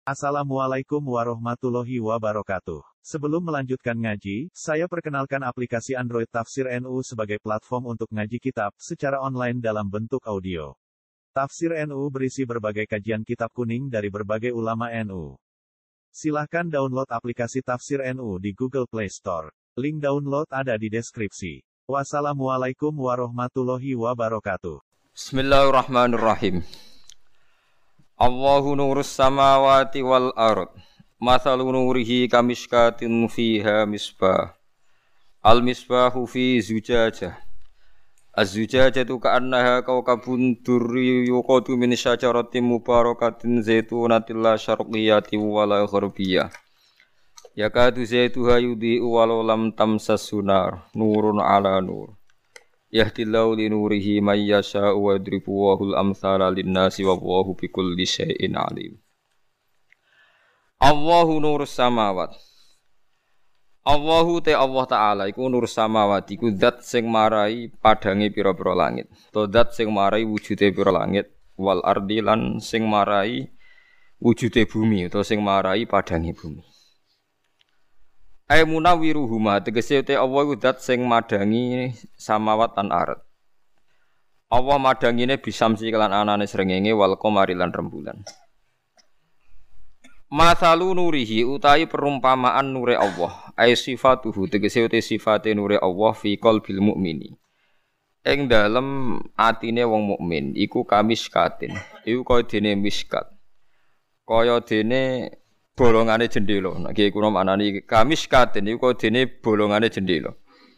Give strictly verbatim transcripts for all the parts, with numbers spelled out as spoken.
Assalamualaikum warahmatullahi wabarakatuh. Sebelum melanjutkan ngaji, saya perkenalkan aplikasi Android Tafsir N U sebagai platform untuk ngaji kitab secara online dalam bentuk audio. Tafsir N U berisi berbagai kajian kitab kuning dari berbagai ulama N U. Silahkan download aplikasi Tafsir N U di Google Play Store. Link download ada di deskripsi. Wassalamualaikum warahmatullahi wabarakatuh. Bismillahirrahmanirrahim. Allahu nurus samawati wal ard. Mathalu nurihi kamishkatin fiha misbah. Al misbahu fi zujajah. Az-zujajatu ka'annaha kawkabun durri yuqadu min syajaratin mubarakatin zaitunatin la syarqiyatin wala gharbiyah. Yakadu zaituha yudhi'u walau lam tamsas sunar. Nurun ala nur. Yahdillahu li nurihi may yasha'u wa yadribu wahul amthala linnasi wa Allahu bikulli syai'in alim. Allahu nurus samawat. Allahu te Allah Ta'ala iku nurus samawat iku zat sing marai padange pira-pira langit. To zat sing marai wujude pira langit wal ardi lan sing marai wujude bumi utawa sing marai padange bumi. Ai munawiruhuma tegese te Allah iku zat sing madangi samawat lan ardh. Allah madangine bisamsi kelan anane srengenge wal qamari lan rembulan. Masalu nurihi utahi perumpamaan nure Allah, ai sifatuhu tegese te sifate nure Allah fi qalbil mukmini. Ing dalem atine wong mukmin iku kamiskatin. Iku kaya dene miskat. Kaya dene bolongane jendela. Nek iki kuna maknani kamiskatin iku dene bolongane jendela.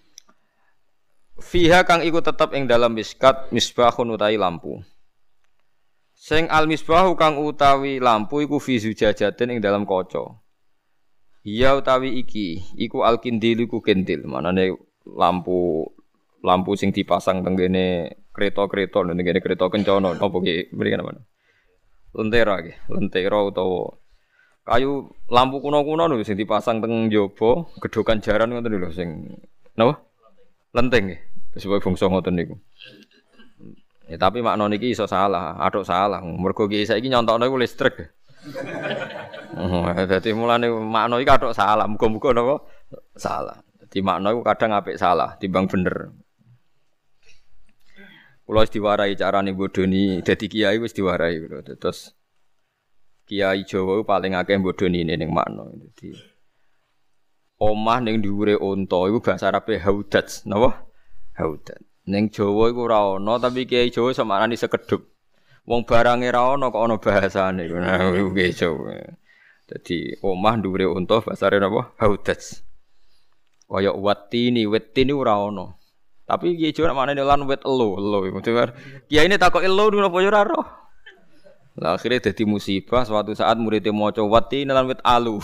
Fiha kang iku tetep ing dalam miskat misbahun utawi lampu. Sing al misbahu kang utawi lampu iku fi zujajatin ing dalam kaca. Iya utawi iki iku al kindil iku kendil. Manane lampu lampu sing dipasang teng kene kereta-kereta teng kene kereta kencana apa ki mriki napa. Lentera iki, lentera utawa kayu lampu kuno-kuno lho sing dipasang teng njaba, gedhokan jaran ngoten lho sing napa? Lenteng nggih. Sebab bangsa ngoten niku. Ya tapi makna niki iso salah, atuk salah. Mergo ki saiki nyontokno iku listrik. Oh, dadi mulane makna iki atuk salah, muga-muga napa salah. Dadi makna iku kadang apik salah timbang bener. Kula wis diwarai carane bodoni dadi kiai wis diwarai lho. Terus kiai Jawa paling akeh bodoni ning makna. Dadi omah ning dhuwure unta iku bahasa Arabe haudats, napa? Haudat. Ning Jawa iku ora ana, tapi kiai Jawa iso maknani sekedhup. Wong barange ra ana kok ana bahasane. Nah, iku kiai Jawa. Dadi omah dhuwure unta bahasane napa? Haudats. Kaya watini, wetini ora ana. Tapi kiai Jawa maknane lan wet elo, elo iku. Kiai ini takok elo napa ya ora roh. Lah akhire dadi musibah suatu saat muridé maca watini lan wet alu.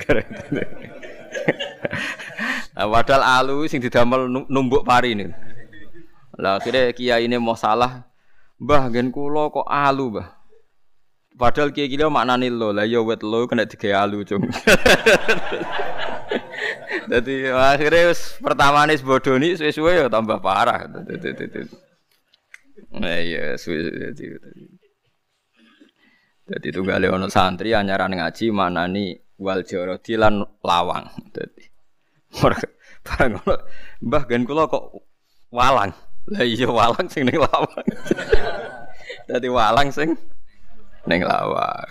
Nah, padahal alu sing didamel numbuk pari niku. Lah akhire kiyaine mau salah. Mbah nggen kula kok alu, Mbah. Padahal kiai iki maknane lo. Lah ya wet lo kena digawe alu, Cung. Dadi akhire wis pertamane bodoni suwe-suwe ya tambah parah. Nah iya suwe dadi. Dadi tunggale ana santri anyaran ngaji manani wal jarodi lan lawang. Dadi barang ngono Mbah gen kula kok walang. Lah iya walang sing ning lawang. Dadi walang sing ning lawang.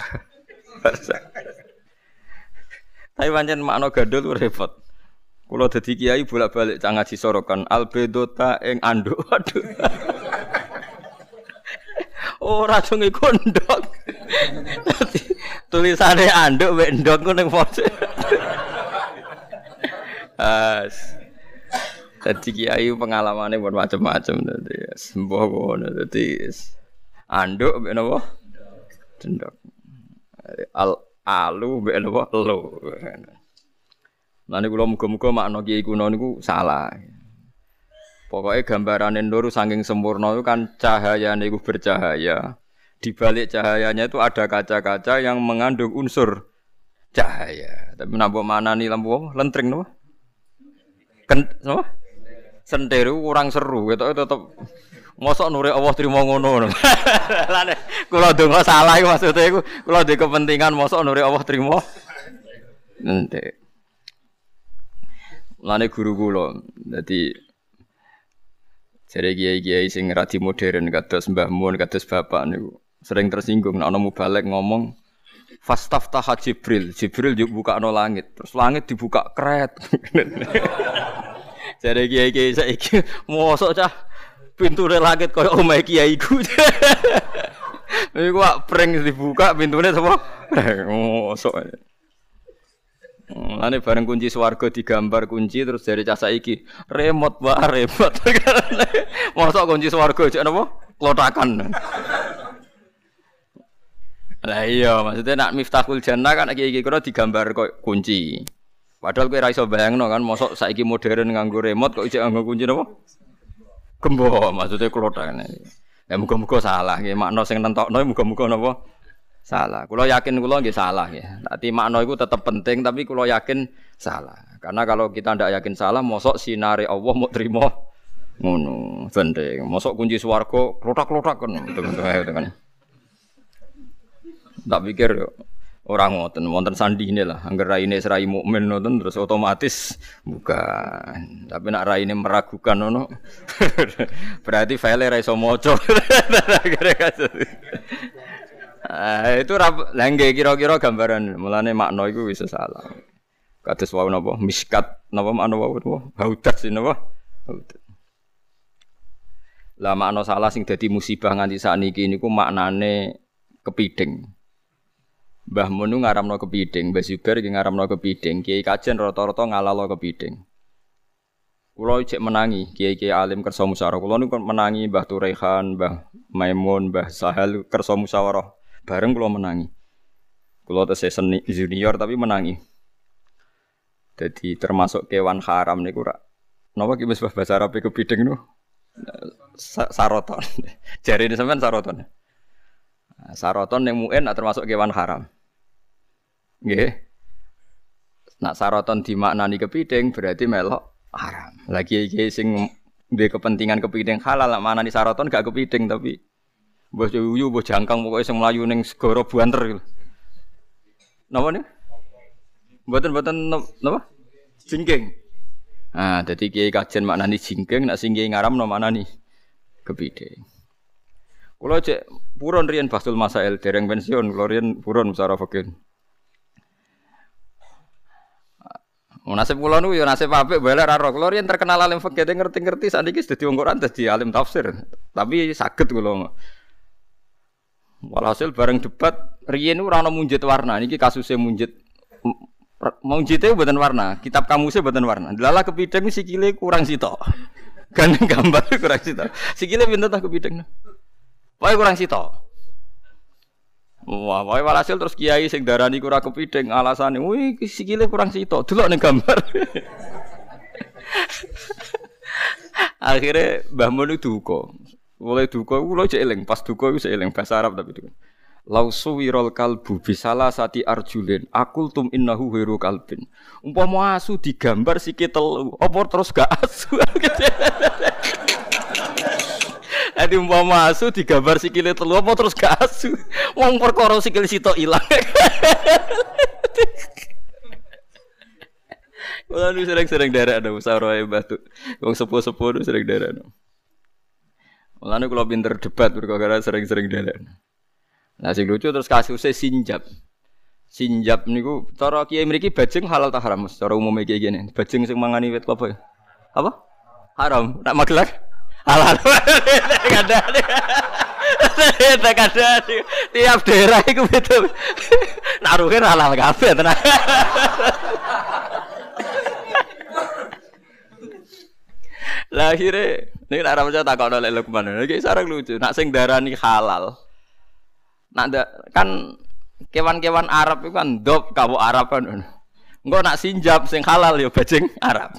Tapi pancen makna gandul repot. Kula dadi kiai bolak-balik cah ngaji sorokan albedota ing anduk. Waduh. Ora dong iku ndok. Tulisane anduk mek ndok ku ning pojok. As. Dadi kiai pengalamane pun macam-macam dadi sembuh ngono dadi anduk mek napa? Ndok. Al alu mek napa? Elo. Lan kula muga-muga makna kiai kuno niku salah. Pokoke gambarane nur saking sempurna itu kan cahayane iku bercahaya. Di balik cahayanya itu ada kaca-kaca yang mengandung unsur cahaya. Tapi napa manani lampu apa? Lentring napa? Ken napa? Sendiri kurang seru, ketoke tetep Mosok nure Allah trimo ngono. Lane kula donga salah iku maksude iku kula ndek kepentingan mosok nure Allah trimo. Entek. Lane guru kula dadi jare kiai-kiai sing radi modern kados Mbah Mun kados bapak niku sering tersinggung nek ana mubalek ngomong fastaftah Jibril, Jibril yo bukakno langit, terus langit dibuka kret. Jare kiai-kiai saiki mosok cah pintune langit kaya omahe kiaiku. Iku kok pring dibuka pintune sapa? Mosok. Lane bareng kunci swarga digambar kunci terus dari cah saiki remote wae remote. Mosok kunci swarga jek napa? Klotakan. Lah iya maksudnya nak Miftahul Jannah kan iki-iki kira digambar kok kunci. Padahal kowe ra iso bayangno kan mosok saiki modern nganggo remote kok ijek nganggo kunci napa? Gembo maksudnya klotakan. Ya muga-muga salah nggih makna sing nentokno muga-muga napa? Salah. Kula yakin kula nggih salah ya. Tapi makna iku tetep penting tapi kula yakin salah. Karena kalau kita ndak yakin salah, mosok sinare Allah mau trimo ngono. Penting. Mosok kunci swarga klotak-klotak kan gitu kan. Tak pikir ora ngoten, wonten sandine lah. Angger raine serai mukmin ngoten terus otomatis bukan. Tapi nek raine meragukan ngono. Berarti file ra iso maca. Ah itu rap lengge kira-kira gambaran mulane makna iku wis salah. Kados wau napa miskat napa makna wau napa haudat sing napa haudat. Lah makna salah sing dadi musibah nganti sakniki niku maknane kepiding. Mbah Mun ngaramno kepiding, Mbah Zubair iki ngaramno kepiding, Kiai Kajen rata-rata ngalalo kepiding. Kula cek menangi kiai-kiai alim kersa musyawarah. Kula niku menangi Mbah Turehan, Mbah Maimun, Mbah Sahal kersa musyawarah. Bareng kula menangi. Kula tesih junior tapi menangi. Jadi termasuk kewan haram niku rak. Napa ki wis bahasa Arab kepiding niku? Saroton. Jarine sampean saroton. Saroton ning muen termasuk kewan haram. Nggih. Nak saroton dimaknani kepiding berarti melok haram. Lagi iki sing duwe kepentingan kepiding halal nak maknani saroton gak kepiding tapi mbah yuyu mbah jangkang pokoke sing mlayu ning segara buanter gitu. Napa nih? Mboten-mboten napa? Jingking. Ah, dadi kiai kajen maknani jingking, nek sing kiai ngaramno maknani kepiding. Kula cek purun riyen Basul Masail dereng pensiun, kula riyen purun musara fikih. Nasib kula niku ya nasib apik bae ra ro. Kula riyen terkenal alim fikih ngerti-ngerti sakniki dadi wong Quran dadi alim tafsir. Tapi saged kula. Walhasil bareng debat riyen niku ora ana munjit warna. Niki kasuse munjit munjite mboten warna, kitab kamusnya mboten warna. Delala kepideng sikile kurang sitok. Gandeng gambar kurang sitok. Sikile pinten ta kepideng. Wae kurang sitok. Wah, wae walhasil terus kiai sing darani ora kepideng alasane, "Wih, sikile kurang sitok, delok ning gambar." Akhire Mbah Mun duka. Mulai duka kula cek eling, pas duka iku cek eling bahasa Arab tapi duka. Lausu wirol kalbu bisalah sati arjulin akultum innahu wiru kalbin. Umpama asu digambar sikil telu, apa terus gak asu? Adi umpama asu digambar sikile telu apa terus gak asu. Wong perkara sikil sitok ilang. Wala nu sering-sering derek ada musyawarah batu. Wong sepuh-sepuh nu sering derek. Wala nu kula pinter debat perkara sering-sering derek. Nah sing lucu terus kasusnya sinjab. Sinjab niku cara kiai mriki bajing halal ta haram? Cara umumnya kiai gini. Bajing sing mangani wit klapa ya? Apa? Haram. Nak magelar? Halal. Kadang-kadang. Kadang-kadang tiap daerah iku beda. Naruhe halal kabeh tenan. Lah akhire nek ora percaya takokno lek Lukman. Iki sareng lucu. Nak sing darani halal. Nak kan kewan-kewan Arab itu kan dop kawu Arab kan. Engko nak sinjab sing halal ya bajing Arab.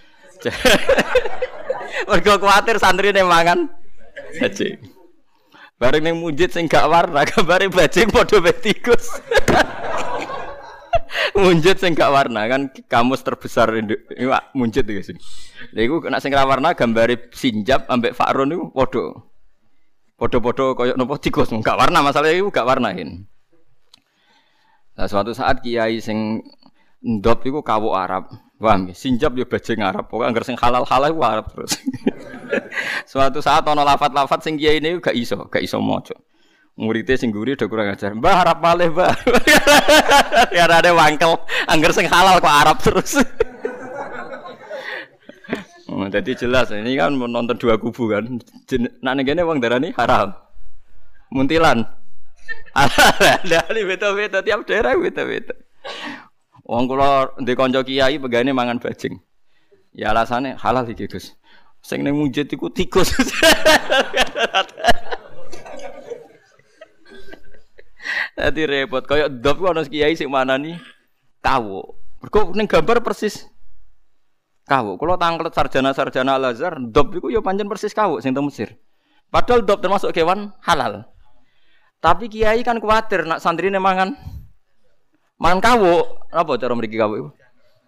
Mergo kuwatir santrine mangan bajing. Bareng ning munjid sing gak warna gambare bajing padha mek tikus. Munjid sing gak warna kan kamus terbesar iwak munjid iki sing. Lha iku nek sing ra warna gambare sinjab ambek Fa'run niku padha. Podo-podo koyo napa tikus, gak warna masalahnya iku gak warnain. Nah, suatu saat kiai sing ndop iku kawuk Arab. Paham nggih? Sinjab yo bajing Arab. Pokoke anggere sing halal-halal iku Arab terus. Suatu saat ana lafat-lafat sing kiai ini gak iso, gak iso maca. Muridé sing guri udah kurang ajar. Mbah Arab malih, Mbah. Ya ada wangkel, anggere sing halal kok Arab terus. Oh, jadi jelas ini kan menonton dua kubu kan. Nak negene wong darani haram. Muntilan. Ada beda-beda tiap daerah beda-beda. Wong kula ndek kanca kiai pegane mangan bajing. Ya alasane halal iki, Gus. Sing ning mujid iku tikus. Dadi repot kaya ndop ku ana kiai sing manani kawuk. Mergo ning gambar persis kawuk. Kula tanglet sarjana-sarjana Al-Azhar, ndop iku ya pancen persis kawuk sing teng Mesir. Padahal ndop termasuk kewan halal. Tapi kiai kan kuwatir nak santrine mangan mangan kawuk. Apa cara mriki kawuk iku?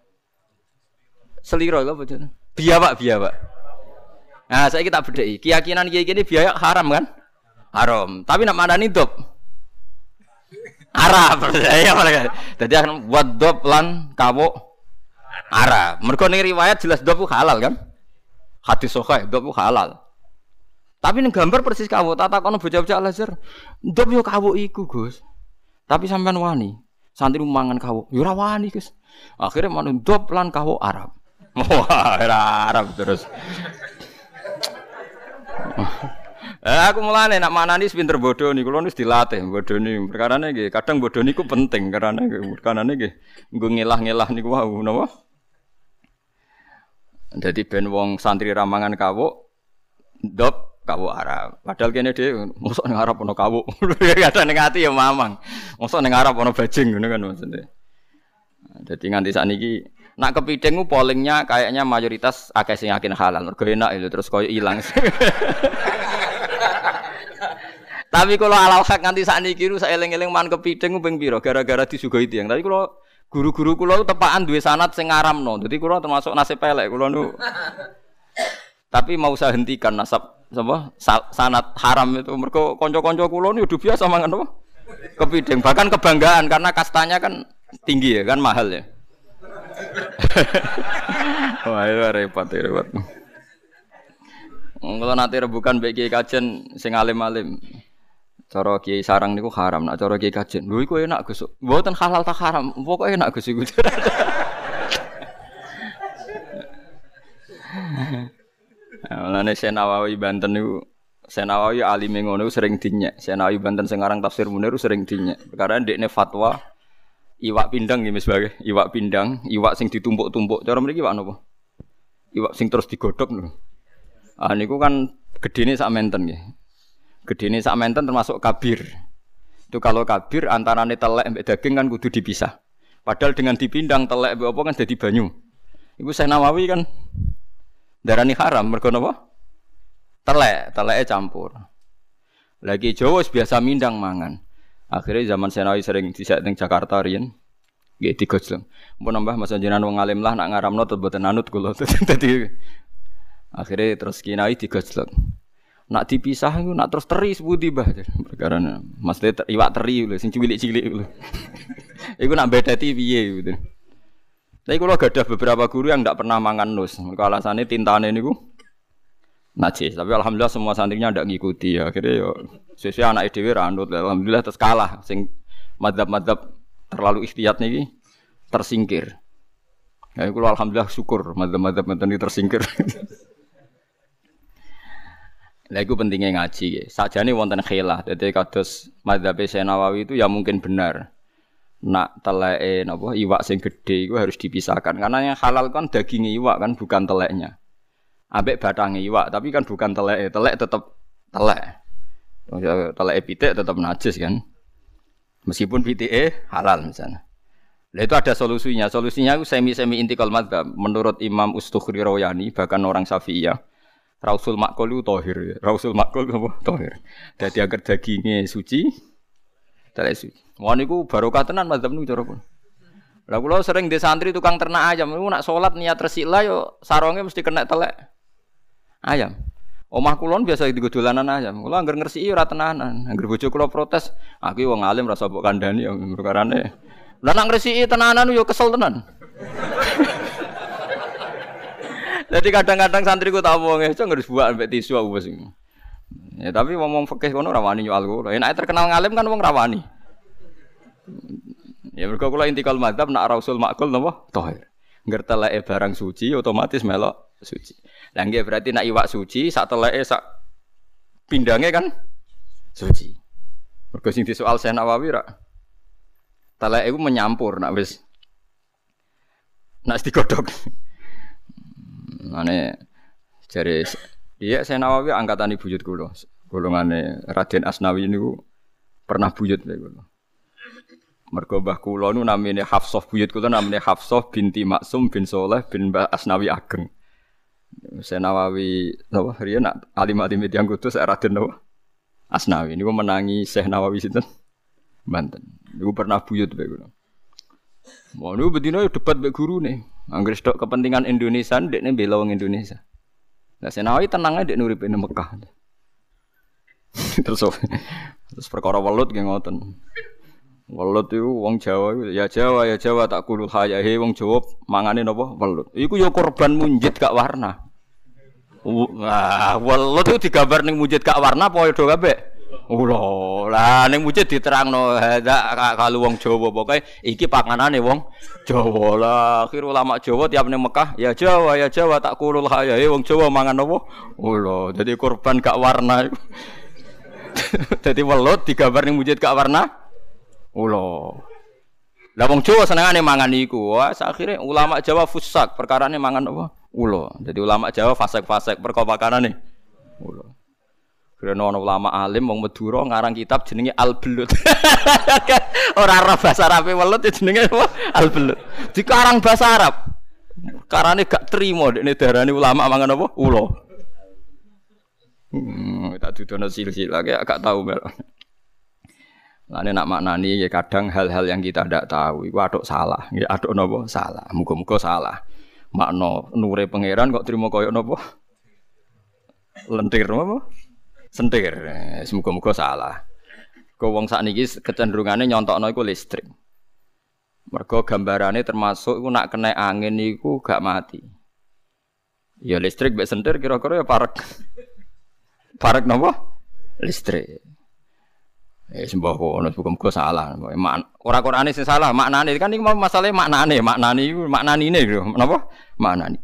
Seliro apa jenenge? Biawak, biawak. Nah, saiki tak bedheki. Keyakinan kiai kene biawak haram kan? Haram. Tapi nak manani ndop Arab. Ya mereka. Dadi akan buat ndop lan kawuk Arab. Mergo ning riwayat jelas ndop halal kan? Hadis sahih ndop halal. Tapi ning gambar persis kawuk. Tak takono bocah-bocah Al-Azhar. Ndop yo kawuk iku, Gus. Tapi sampean wani. Santri mangan kawuk. Yo ora wani, Gus. Akhire manut ndop lan kawuk Arab. Wah, era Arab terus. Eh aku mulane nak manani pinter bodoh niku kula wis dilatih bodoni. Perkarane nggih, kadang bodoh niku penting karena perkarane nggih nggo ngelah-ngelah niku wau napa? Dadi ben wong santri ramangan kawuk ndop kawuk Arab. Padahal kene dhewe mosok ning Arab ana kawuk. Kadang ning ati ya mamang. Mosok ning Arab ana bajing ngono kan maksudnya. Dadi nganti sakniki nak kepiting ku pollingnya kayaknya mayoritas akeh sing yakin halal. Mergo enak itu terus koyo ilang. Tapi kalau alal hak nganti sakniki ku saeling-eling man kepiting ku ping pira gara-gara disuguhi tiyang. Tapi kalau guru-guru kula tepakan duwe sanad sing ngaramno. Dadi kula termasuk nasib elek kula nu. Tapi mau saya hentikan nasab apa sanad haram itu mergo kanca-kanca kula nu udah biasa mangan apa? Kepiting. Bahkan kebanggaan karena kastanya kan tinggi ya kan mahal ya. Wah, itu repot, repot. Kalau nanti rebukan bagi kajian sing alim-alim, cara kiai sarang niku haram, nak cara kiai kajian. Lho iku enak Gus. Mboten halal tak haram, pokoke enak Gus iku. Mulane Senawawi Banten niku, Senawawi alime ngono sering dinyek. Senawawi Banten sing aran tafsir Munir sering dinyek. Perkara ndekne fatwa iwak pindang nggih sebagai iwak pindang, iwak sing ditumpuk-tumpuk. Cara mriki iwak napa? Iwak sing terus digodhog lho. Ah niku kan gedene sak menten nggih. Gedene sak menten termasuk kabir. Itu kalau kabir antarane telek mbek daging kan kudu dipisah. Padahal dengan dipindang telek mbek apa kan dadi banyu. Iku Syekh Nawawi kan darani haram mergo napa? Telek, teleke campur. Lagi Jawa biasa mindang mangan. Akhirnya zaman Senawi sering disek teng Jakarta riyen. Nggih digojlong. Mumpun nambah Mas jenengan wong alim lah nak ngaramno mboten anut kula. Dadi akhirnya terus Kinai digojlong. Nak dipisah iku nak terus teri sepundi Mbah. Perkarane Mas ter, iwak teri lho sing cilik-cilik lho. Iku nak bedeti piye gitu. Tapi kula gadah beberapa guru yang ndak pernah mangan nus. Mergo alasane tintane niku najis. Tapi alhamdulillah semua santrinya ndak ngikuti ya. Akhirnya yo sesuai anak dhewe ra anut. Alhamdulillah terus kalah sing madzhab-madzhab terlalu ikhtiyat niki tersingkir. Ya kula alhamdulillah syukur madzhab-madzhab ngeten iki tersingkir. Lah iku pentingnya ngaji. Sajane wonten khilaf. Dadi kados madzhab Senawawi itu ya mungkin benar. Nak teleke napa iwak sing gedhe iku harus dipisahkan karena yang halal kan daging iwak kan bukan teleknya. Ambek batange iwak tapi kan bukan teleke. Telek tetap telek. Teleke pitik tetap najis kan. Meskipun pitike halal misalnya. Lah itu ada solusinya. Solusinya itu semi-semi intikal madzhab menurut Imam Ustukhri Rawayani bahkan orang Syafi'iyah. Rausul makul itu tahir. Rausul makul apa? Tahir. Dadi agar dagingnya suci, telek suci. Wah niku barokah tenan madzhab niku cara pun. Lah kula sering di santri tukang ternak ayam niku nak salat niat resik lah yo saronge mesti kena telek ayam. Omah kula biasa digo dolanan ayam. Kula anggar ngresiki ora tenanan. Anggar bojo kula protes, aku wong alim rasa mbok kandhani ya perkarane. Lah nek ngresiki tenanan yo kesel tenan. Jadi kadang-kadang santriku tak wong iso ngurus buak ambek tisu aku wis. Ya tapi ngomong fikih kono ra wani nyual kula. Enak terkenal ngalim kan wong ra wani. Ya mergo kula intikal madzhab nak rasul makul napa? Tahir. Ngerteleke barang suci otomatis melok suci. Lah nggih berarti nak iwak suci sak teleke sak pindange kan suci. Mergo sing disoal Syekh Nawawi ra teleke iku menyampur nak wis nak digodhog. Ane jare dia Syekh Nawawi angkatan buyut kula. Golongane Raden Asnawi niku pernah buyut kula. Mergo mbah kula nu namine Hafsah buyut kula namine Hafsah binti Maksum bin Saleh bin Mbah Asnawi Ageng. Syekh Nawawi napa riyen nak alim-alim tiyang kudus Raden napa Asnawi niku menangi Syekh Nawawi sinten Banten. Niku pernah buyut bae kula. Mau niku bedino debat mbek gurune. Angger stok kepentingan Indonesia ndekne bela wong Indonesia. Lah Syekh Nawawi tenang ae ndek nuripe nang Mekah. Terus terus perkara welut nggih ngoten. Welut iku wong Jawa iku ya Jawa ya Jawa tak kulul hayahe wong Jawa mangane napa welut. Iku ya korban munjid gak warna. Wah, welut itu digambar ning munjid gak warna padha kabeh. Ula, lah ning munjid diterangno hadza kalu wong Jawa pokoke iki panganane wong Jawa lah. Akhir ulama Jawa tiap ning Mekah ya Jawa ya Jawa tak kulul hayahe wong Jawa mangan apa? Ula, dadi korban gak warna. Dadi welut digambar ning munjid gak warna. Ulo. Lah wong Jawa senengane mangan iku. Wah, akhire ulama Jawa fusak, perkarane mangan apa? Ulo. Jadi ulama Jawa fasek-fasek perkara pakanane. Ulo. Karena ana ulama alim wong Madura ngarang kitab jenenge Al-Belut. Ora ora bahasa Arabe welut jenenge apa? Al-Belut. Dikarang bahasa Arab. Karane gak trimo dekne darani ulama mangan apa? Ulo. Hmm, tak dudono silsilah gak tau melok. Lane nak maknani ya kadang hal-hal yang kita ndak tahu iku atuk salah, nggih atuk napa salah. Muga-muga salah. Makna nure pangeran kok trimo koyo napa? Lentir napa? Sentir. Muga-muga salah. Kok wong sakniki kecenderungane nyontokno iku listrik. Mergo gambarane termasuk iku nak kena angin iku gak mati. Ya listrik mek sentir kira-kira ya parek. Parek napa? Listrik. Eh sembah kono muga-muga salah. Ora Qur'ane sing salah, maknane kan iki masalah maknane, maknane iku maknanine lho. Napa? Maknane.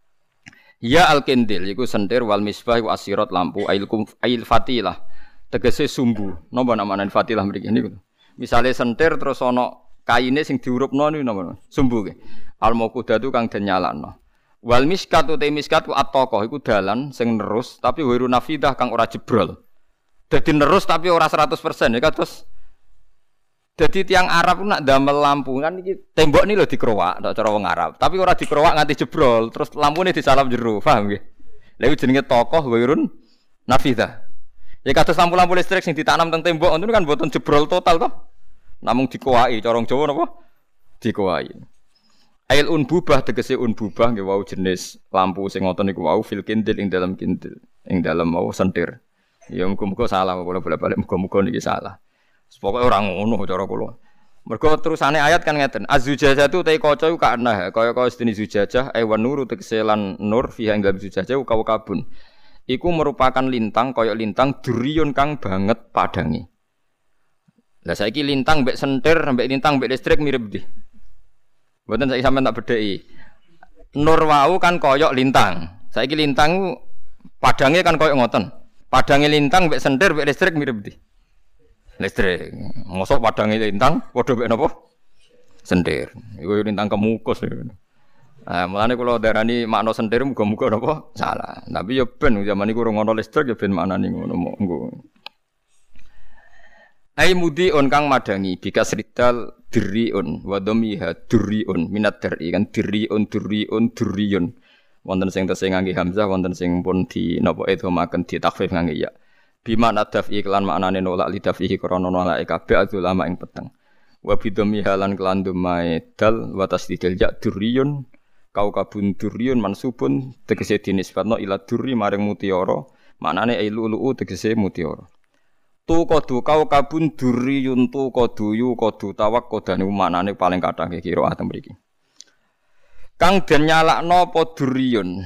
Ya al-kindil iku sentir wal misbah iku asirat lampu ailkum ail fatilah. Tegese sumbu. Napa namane fatilah mriki niku. Misale sentir terus ana kaine sing diurupno niku napa? Sumbu ki. Al-mauqudatu kang den nyalano. Wal miskat uta miskat ku at-taqah iku dalan sing nerus tapi wiru nafidah kang ora jebrol. Dadi nerus tapi ora seratus persen ya terus. Dadi tiang Arab nak damel lampu kan iki tembok ni lho dikrowak tok cara wong Arab. Tapi ora dikrowak nganti jebrol, terus lampune disalap jero, paham nggih? Lha iku jenenge tokoh wirun nafidah. Ya kados lampu-lampu listrik sing ditanam teng tembok ngono kan mboten jebrol total toh. Namung dikowaki cara Jawa napa? Dikowaki. Ail unbubah tegese unbubah nggih wau jenis lampu sing ngoten niku wau fil kindil ing dalam kindil, ing dalam wau sentir. Ya muga-muga salah kula bolak-balik muga-muga niki salah. Pokoke ora ngono cara kula. Mergo terusane ayat kan ngeten, az-zujajah tu te kaca iku kana kaya-kaya sedene zujajah ewan nur tegese lan nur fiha ing dalem zujajah kau kabun. Iku merupakan lintang kaya lintang duriyun kang banget padange. Lah saiki lintang mbek sentir mbek lintang mbek listrik mirip ndi? Mboten saiki sampean tak bedheki. Nur wau kan kaya lintang. Saiki lintang padange kan kaya ngoten. Padange lintang mbek sentir mbek listrik mirip ndi? Listrik. Mosok padange lintang padha mbek napa? Sentir. Iku lintang kemukus. Ah, mulane kula darani makna sentir muga-muga napa? Salah. Tapi ya ben zaman iku ora ngono listrik ya ben maknane ngono monggo. Ai mudiun kang madangi bikas ridal diriun wa dhamiha duriun minat dari kan diriun duriun duriyun. Wonten sing tesih ngangge hamzah, wonten sing pun di napa idhamaken di takhfif ngangge ya. Bima nadaf iklan maknane nolak lidafihi krana nolak kabeh ulama ing peteng. Wa bidhami halan kelan dumae dal wa tasdidil ya duriyun kaukabun duriyun mansubun tegese dinisbatno ila duri maring mutiara Maknane ai lu'lu'u tegese mutiara. Tu kodu kau kabun duriyun tu kodu yu kodu tawak kodane maknane paling kathah kira atem mriki. Kang den nyalakno apa duriyun.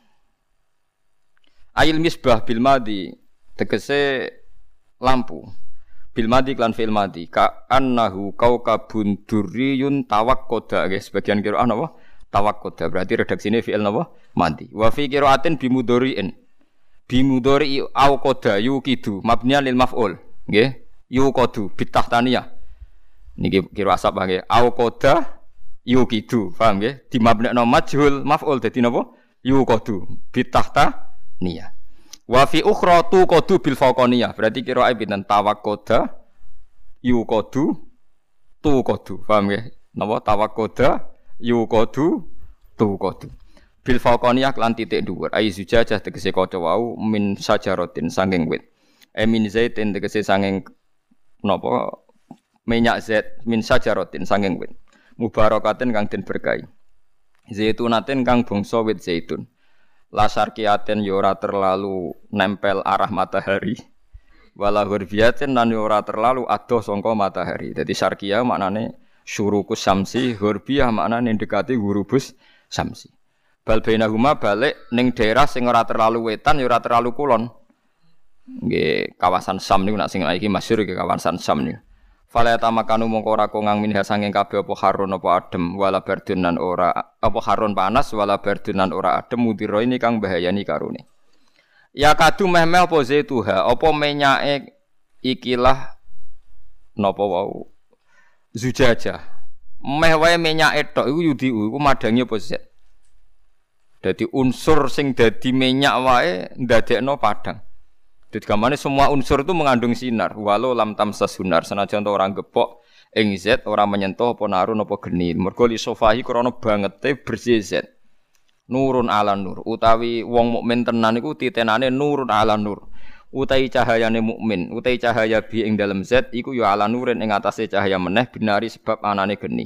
Ail misbah bil madi tegese lampu. Bil madi klan fil madi ka annahu kaukabun duriyun tawakkoda nggih sebagian qiraah napa tawakkoda berarti redaksine fi'il napa madi wa fi qiraatin bimudhari'in bimudhari au qada yuqidu mabniyan lil maf'ul nggih yuqadu bitahtaniyah niki qiraah sapa nggih au qada yuqidu paham nggih dimabnekno majhul maf'ul dadi napa yuqadu bitahtaniyah. Wa fi ukhra tu qadu bil faqaniyah berarti qiraa'e pinten tawakkoda yuqadu tu qadu paham nggih napa tawakkoda yuqadu tu qadu bil faqaniyah lan titik dhuwur ai zujajah tegese kaca wau min sajaratin sanging wit e min zaitin tegese sanging napa minyak zait min sajaratin sanging wit mubarakatin kang den berkahi zaitunatin kang bangsa wit zaitun lasar kiaten yora terlalu nempel arah matahari wala hurbiyatin lan yora terlalu adoh sangka matahari. Dadi sarkia maknane syurukus samsi, hurbiyah maknane dekati hurubus samsi. Bal bainahuma balik ning daerah sing ora terlalu wetan ya ora terlalu kulon. Nggih kawasan Sam niku nak sing iki masyhur iki kawasan Sam niku. Fala tamakanu mongko ora kongang minha sanging kabeh apa harun apa adem wala bardunan ora apa harun panas wala bardunan ora adem mudira ini kang bahayani karone. Ya kadu meh-meh apa zaituha apa menyake ikilah napa wau zujajah. Meh wae menyake tok iku yudi iku madangi apa zat. Dadi unsur sing dadi minyak wae ndadekno padang. Jadi gamane semua unsur itu mengandung sinar. Walau lam tamsas sunar senajan orang gepok ing zat ora menyentuh apa narun apa geni. Mergo li sofahi krana bangete bersih zat. Nurun ala nur utawi wong mukmin tenan iku titenane nurun ala nur. Utawi cahayane mukmin, utawi cahaya bi ing dalem zat iku ya ala nurin ing atase cahaya meneh binari sebab anane geni.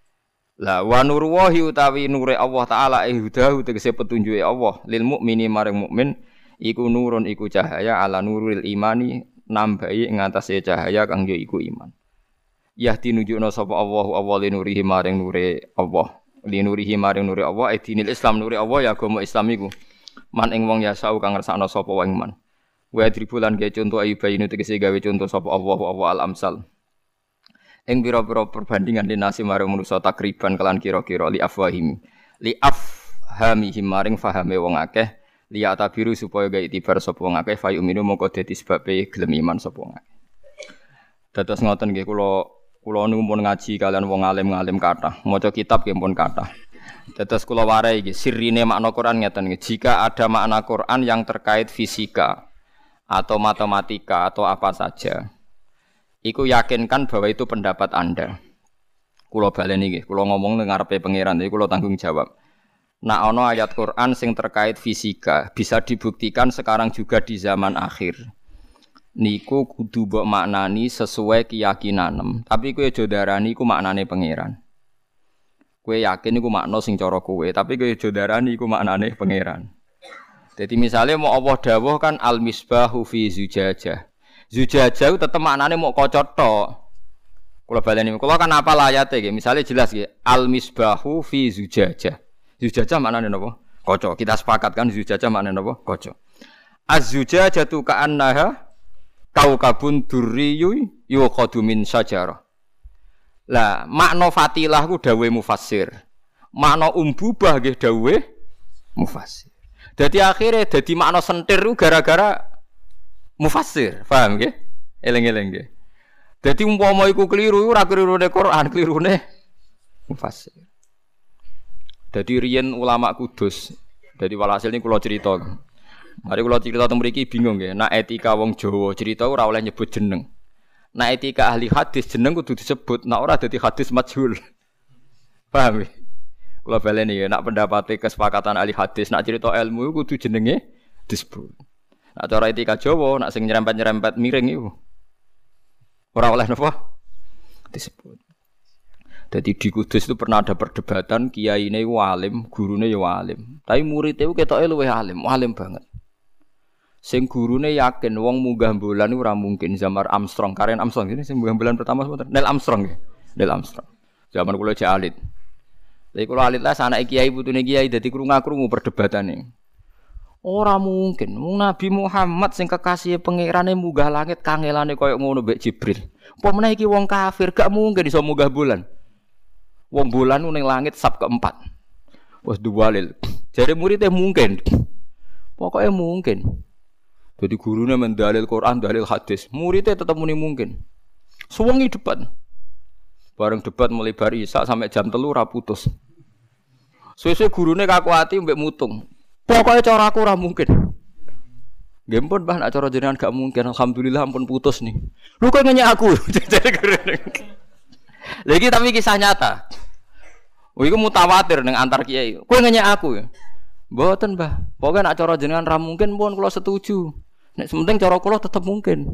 Lah wa nur wahi utawi nure Allah taala ihdahu tegese petunjuke Allah lil mukmini maring mukmin iku nurun iku cahaya ala nuril imani nambahi ing atase cahaya kang ya iku iman. Yahdi nunjukna sapa Allahu Allah linurihi maring nure Allah. Linurihi maring nure Allah dinil Islam nure Allah ya agama Islam iku. Man ing wong ya sau kang ngersakno sapa wae man. Wa dribulan ge conto ayu bayinu tegese gawe conto sapa Allahu Allah al amsal. Ing pira-pira perbandingan dinasi maring manusa takriban kelan kira-kira li afwahim. Li afhamihim maring fahame wong akeh. Liya tabiru supaya gawe itibar sapa wong akeh fayu minu mongko dadi sebabe gelem iman sapa wong akeh. Dados ngoten nggih kula kula niku pun ngaji kalian wong alim-alim kathah, maca kitab nggih pun kathah. Dados kula warai iki sirine makna Quran ngeten nggih. Jika ada makna Quran yang terkait fisika atau matematika atau apa saja, iku yakinkan bahwa itu pendapat Anda. Kula baleni nggih, kula ngomong nang ngarepe pangeran, jadi kula tanggung jawab. Nah, ono ayat Quran sing terkait fisika bisa dibuktikan sekarang juga di zaman akhir. Niku kudu mbok maknani sesuai keyakinan. Tapi kowe aja darani iku maknane pangeran. Kowe yakin iku makna sing cara kowe, tapi kowe aja darani iku maknane pangeran. Jadi misalnya mau Allah dawuh kan al-misbahu fi zujajah. Zujajah tetep maknane mau kaca tok. Kula baleni, kula kan apa ayate nggih. Misale jelas nggih, al-misbahu fi zujajah. Zujajah maknane napa? Kaca. Kita sepakat kan zujajah maknane napa? Kaca. Az-zujajatu ka'annaha kaukabun durriyun yuqadu min syajarah. Lah, makna fatilah ku dawuhe mufassir. Makna umbubah nggih dawuhe mufassir. Dadi akhire dadi makna sentir ku gara-gara mufassir. Paham nggih? Eling-eling nggih. Dadi umpama iku keliru ora kelirune Quran, kelirune mufassir. Jadi riyen ulama Kudus. Jadi walhasil ini kula cerita. Mari kula cerita teng mriki bingung nggih. Nek etika wong Jawa cerita ora oleh nyebut jeneng. Nek etika ahli hadis jeneng kudu disebut, nek ora dadi hadis majhul. Paham nggih? Kula baleni ya, nek pendapate kesepakatan ahli hadis, nek cerita ilmu kudu jenenge disebut. Nek cara etika Jawa, nek sing nyerempet-nyerempet miring iku ora oleh napa disebut. Jadi di Kudus itu pernah ada perdebatan kiai ini alim, gurune ya alim. Tapi muridnya itu ketoknya luwih alim, alim banget. Sing gurune yakin wong munggah bulan ora mungkin zaman Armstrong, Karen Armstrong ini sing munggah bulan pertama sebentar. Neil Armstrong ya. Neil Armstrong. Zaman kula cek alit. Lha kula alit lah anake kiai putune kiai dadi krungu-krungu perdebatane. Ora mungkin. Wong Nabi Muhammad sing kekasih pangerane munggah langit kangelane koyo ngono mbek Jibril. Apa meneh iki wong kafir gak mungkin iso munggah bulan. Wong bulan ning langit sab keempat. Wes duwalil. Jare muridé mungkin. Pokoknya mungkin. Jadi gurunya mendalil Quran, dalil hadis. Muridnya tetap muni mungkin. Suwengi debat. Bareng debat mulai bar Isya sampai jam telu ra putus. Suwe-suwe gurune kakuati mbek mutung. Pokoknya cara aku ora mungkin. Nggih pun Mbah nek cara jenengan gak mungkin. Alhamdulillah ampun putus nih. Lu kok nanya aku. Lagi tapi kisah nyata. Oh iku mutawatir ning antar kiai. Kowe nanya aku ya. Mboten, Mbah. Pokoke nek cara jenengan ra mungkin pun kula setuju. Nek sementing cara kula tetep mungkin.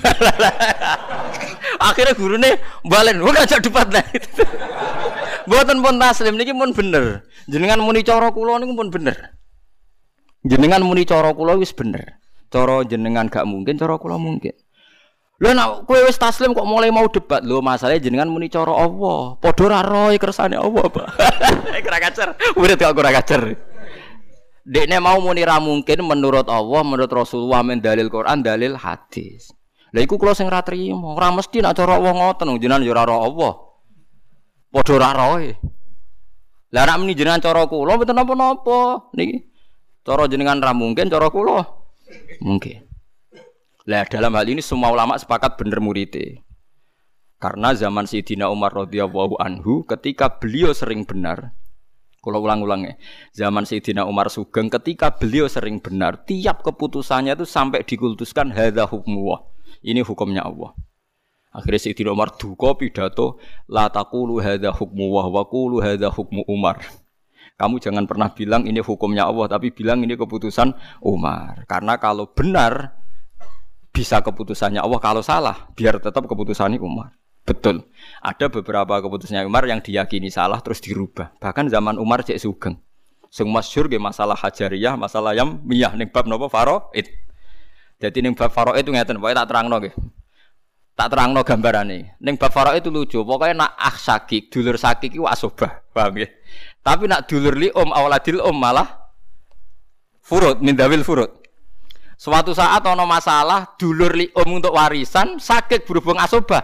Akhirnya gurune balen, ora ajak debat lah. Mboten pun taslim niki pun bener. Jenengan muni cara kula niku pun bener. Jenengan muni cara kula wis bener. Cara jenengan gak mungkin, cara kula mungkin. Lho nek kowe wis taslim kok mulai mau debat. Lho masalahe jenengan muni cara Allah. Padha ra roe kersane Allah, Pak. Ora kacer. Murid kok ora kacer. Dekne mau muni ra mungkin menurut Allah, menurut Rasulullah, men dalil Quran, dalil hadis. Lah iku kula sing ra trimo. Ora mesti nek cara Allah ngoten, jenengan yo ora ro Allah. Padha ra roe. Lah nek muni jenengan cara kula mboten napa-napa niki. Cara jenengan ra mungkin, cara kula mungkin. Lah dalam hal ini semua ulama sepakat bener muridé. Karena zaman Sayyidina Umar radhiyallahu anhu ketika beliau sering benar. Kalau ulang-ulangnya, zaman Sayyidina Umar Sugeng ketika beliau sering benar, tiap keputusannya itu sampai dikultuskan hadza hukmullah. Ini hukumnya Allah. Akhirnya Sayyidina Umar duka pidato la taqulu hadza hukmullah wa qulu hadza hukmu Umar. Kamu jangan pernah bilang ini hukumnya Allah, tapi bilang ini keputusan Umar. Karena kalau benar bisa keputusannya Allah, kalau salah biar tetap keputusannya Umar. Betul. Ada beberapa keputusannya Umar yang diyakini salah terus dirubah. Bahkan zaman Umar cek sugeng. Sing masyhur ge masalah hajariyah, masalah yang miyah ning bab napa faraid. Dadi ning bab faraid itu ngeten, pokoke tak terangno nggih. Tak terangno gambarane. Ning bab faraid itu lucu. Pokoke nak akh sakik, dulur sakik iki wasobah. Paham nggih? Tapi nak dulur li om awaladil om malah furud min dawil furud. Suatu saat ana masalah dulur li om untuk warisan sakit berhubung asobah.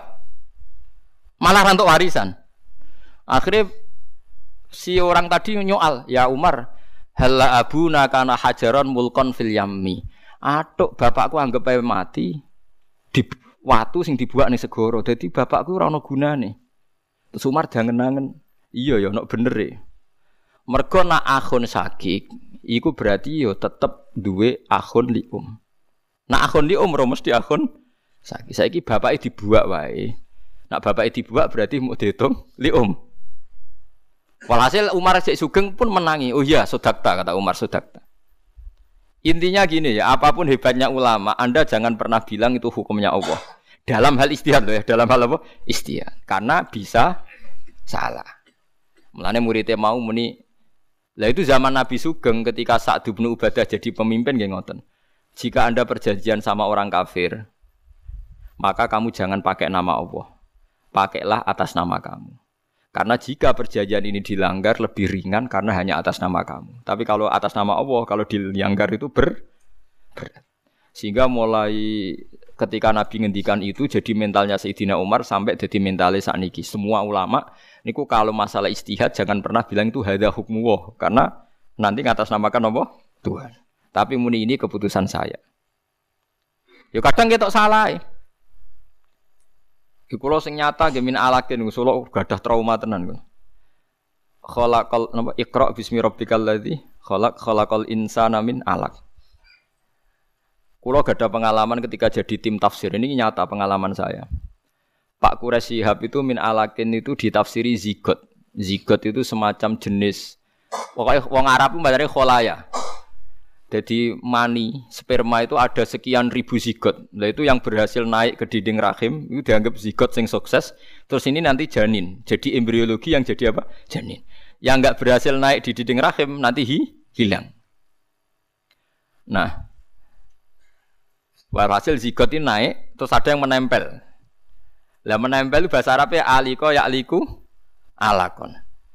Malah untuk warisan. Akhirnya si orang tadi nyoal, ya Umar, halla abuna kana hajaron mulkon fil yammi. Atuk bapakku anggap ae mati di watu sing dibuak ning segara. Dadi bapakku ora ana gunane. Terus Umar jangen-angen, iya ya nek bener e. Mergo nak akhun sakik, iku berarti yo tetep duwe akhun li um. Nak akhun li um ora mesti akhun sakik. Saiki bapake dibuak wae. Nak bapake dibuak berarti mau dihitung li um. Walhasil Umar Cek Sugeng pun menangi. Oh iya, sodakta kata Umar, sodakta. Intinya gini ya, apapun hebatnya ulama, Anda jangan pernah bilang itu hukumnya Allah. Dalam hal istihad loh ya, dalam hal apa? Istihad. Karena bisa salah. Mulane muridnya mau muni. Lah itu zaman Nabi Sugeng ketika Sa'd bin Ubadah jadi pemimpin nggih ngoten. Jika Anda perjanjian sama orang kafir, maka kamu jangan pakai nama Allah. Pakailah atas nama kamu. Karena jika perjanjian ini dilanggar lebih ringan karena hanya atas nama kamu. Tapi kalau atas nama Allah, kalau dilanggar itu ber berat. Sehingga mulai ketika Nabi ngendikan itu jadi mentalnya Sayyidina Umar sampai jadi mentalnya sakniki. Semua ulama niku kalau masalah istihad jangan pernah bilang itu hadza hukmullah karena nanti ngatasnamakan apa? Tuhan. Tapi muni ini keputusan saya. Yo kadang ketok salah. Iki kula sing nyata nggih min alakin Solo gadah trauma tenan kok. Khalaqal napa Iqra bismi rabbikal ladzi khalaq khalaqal insana min alaq. Kula gadah pengalaman ketika jadi tim tafsir ini nyata pengalaman saya. Pak Quraisy Shihab itu min alakin itu ditafsiri zigot. Zigot itu semacam jenis pokoknya wong Arab itu mbacane kholaya. Jadi mani, sperma itu ada sekian ribu zigot. Nah itu yang berhasil naik ke dinding rahim itu dianggap zigot yang sukses. Terus ini nanti janin. Jadi embriologi yang jadi apa? Janin. Yang enggak berhasil naik di dinding rahim nanti hi, hilang. Nah, Walhasil zigot ini naik, terus ada yang menempel. Lah menempel itu bahasa Arabnya aliko ya'liku alakon.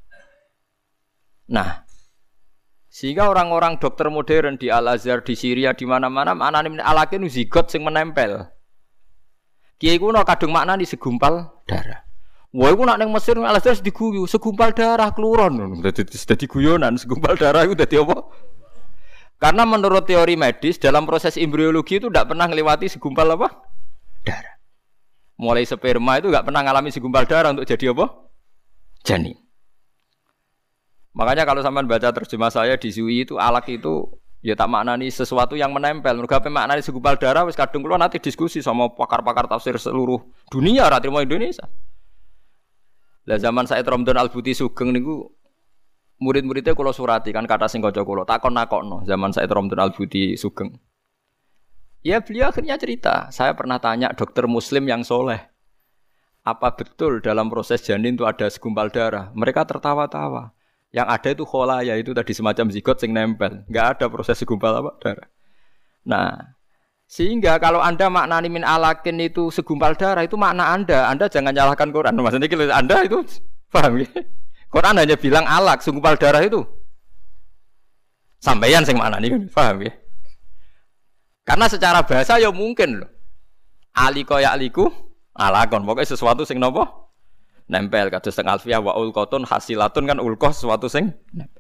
Nah, sehingga orang-orang dokter modern di Al-Azhar, di Syria, di mana-mana maknane alakin zigot sing menempel. Kiai kuno kadung maknani segumpal darah. Wah, iku nak ning Mesir Al-Azhar diguyu, segumpal darah keluron. Dadi dadi guyonan, segumpal darah itu dadi apa? Karena menurut teori medis dalam proses embriologi itu tidak pernah melewati segumpal apa? Darah. Mulai sperma itu tidak pernah mengalami segumpal darah untuk jadi apa? Janin. Makanya kalau sampean baca terjemah saya di S U I itu alak itu ya tak maknani sesuatu yang menempel. Mergo apa maknani segumpal darah wis kadung kula nanti diskusi sama pakar-pakar tafsir seluruh dunia ra trimo Indonesia. Lah zaman Said Ramdan Al-Buti Sugeng niku murid-muridnya kula surati kan kata sing kanca kula takon-nakokno zaman Said Ramdan Al-Buti Sugeng. Ya beliau akhirnya cerita, saya pernah tanya dokter muslim yang soleh, apa betul dalam proses janin itu ada segumpal darah? Mereka tertawa-tawa. Yang ada itu kholaya, itu tadi semacam zigot sing nempel. Enggak ada proses segumpal apa darah. Nah, sehingga kalau Anda maknani min alakin itu segumpal darah, itu makna Anda. Anda jangan nyalahkan Quran. Maksudnya kalau Anda itu paham ya? Quran hanya bilang alak, segumpal darah itu. Sampaian sing maknani kan, paham ya? Karena secara bahasa ya mungkin loh. Aliko ya aliku alakon. Pokoknya sesuatu sing nopo nempel. Kados teng alfiah wa ulqatun hasilatun kan ulqah sesuatu sing nempel.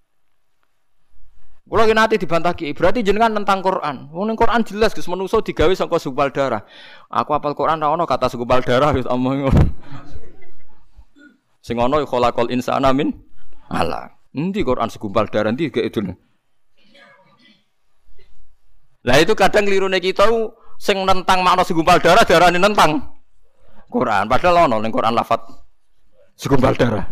Kula ki nate dibantah ki, berarti jenengan tentang Quran. Wong ning Quran jelas Gus manusa digawe saka segumpal darah. Aku hafal Quran ra ono kata segumpal darah wis omong ngono. Sing ono khalaqal insana min alaq. Endi Quran segumpal darah endi gak itu. Lah itu kadang klirune kita sing nentang makna segumpal darah darane nentang Quran. Padahal ono ning Quran lafaz segumpal darah.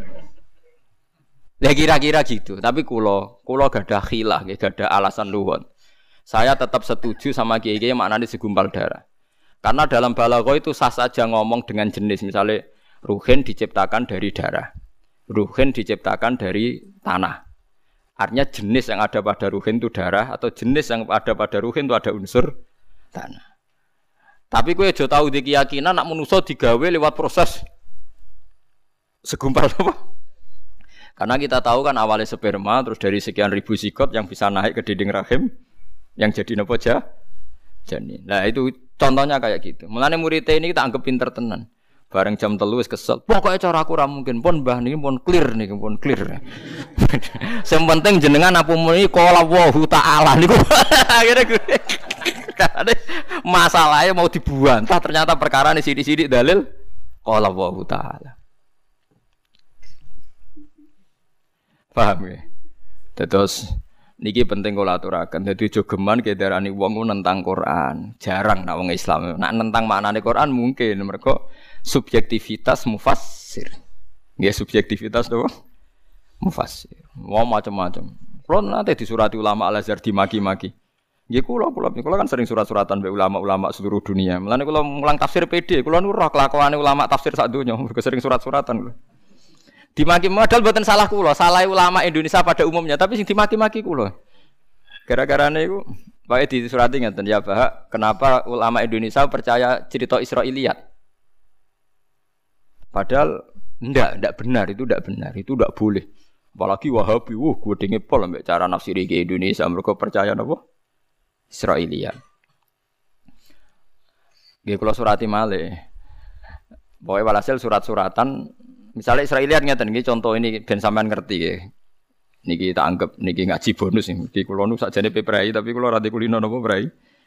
Ya kira-kira gitu. Tapi kula kula gadah khilah, gadah alasan luwon. Saya tetap setuju sama kiai-kiai maknane segumpal darah. Karena dalam balaghah itu sah saja ngomong dengan jenis, misalnya ruhin diciptakan dari darah. Ruhin diciptakan dari tanah. Artinya jenis yang ada pada ruhin itu darah atau jenis yang ada pada ruhin itu ada unsur tanah. Tapi kowe aja tau di keyakinan nak manusa digawe lewat proses segumpal apa? Karena kita tahu kan awalnya sperma terus dari sekian ribu zigot yang bisa naik ke dinding rahim yang jadi napa ja? Janin. Nah itu contohnya kayak gitu. Mulane muridé ini kita anggap pinter tenan. Bareng jam telu wis kesel. Pokoke cara aku ra mungkin pun mbah niki pun clear niki pun clear. Sing penting jenengan apa muni qala Allahu taala niku. Akhire masalahnya mau dibantah ternyata perkara ini sidik-sidik dalil qala Allahu taala. Paham ya? Terus niki penting kula aturaken. Dadi aja geman kedarani wong nentang Quran. Jarang nek wong Islam. Nek nentang maknane Quran mungkin mergo subjektivitas mufassir. Nggih subjektivitas to mufassir. Wong macam-macam. Kulo nate disurati ulama Al-Azhar dimaki-maki. Nggih kula kula kula kan sering surat-suratan be ulama-ulama seluruh dunia. Mulane kula mulang tafsir P D, kula nu roh kelakuane ulama tafsir sak donya, mergo sering surat-suratan kula. Dimaki modal mboten salah kula, salah ulama Indonesia pada umumnya, tapi sing dimaki-maki kula. Gara-garane iku wae disurati ngeten ya, Pak, kenapa ulama Indonesia percaya cerita Israiliyat? Padahal enggak, enggak benar, itu enggak benar, itu enggak boleh. Apalagi Wahabi, wah gedenge pol ambek cara nafsiri ke Indonesia, mereka percaya napa? Israiliyat. Nggih kula surati malih. Pokoke walhasil surat-suratan, misalnya Israiliyat ngeten nggih contoh ini ben sampean ngerti nggih. Niki tak anggap niki ngaji bonus niki kula nu sakjane pe prai tapi kula ra kulino napa prai.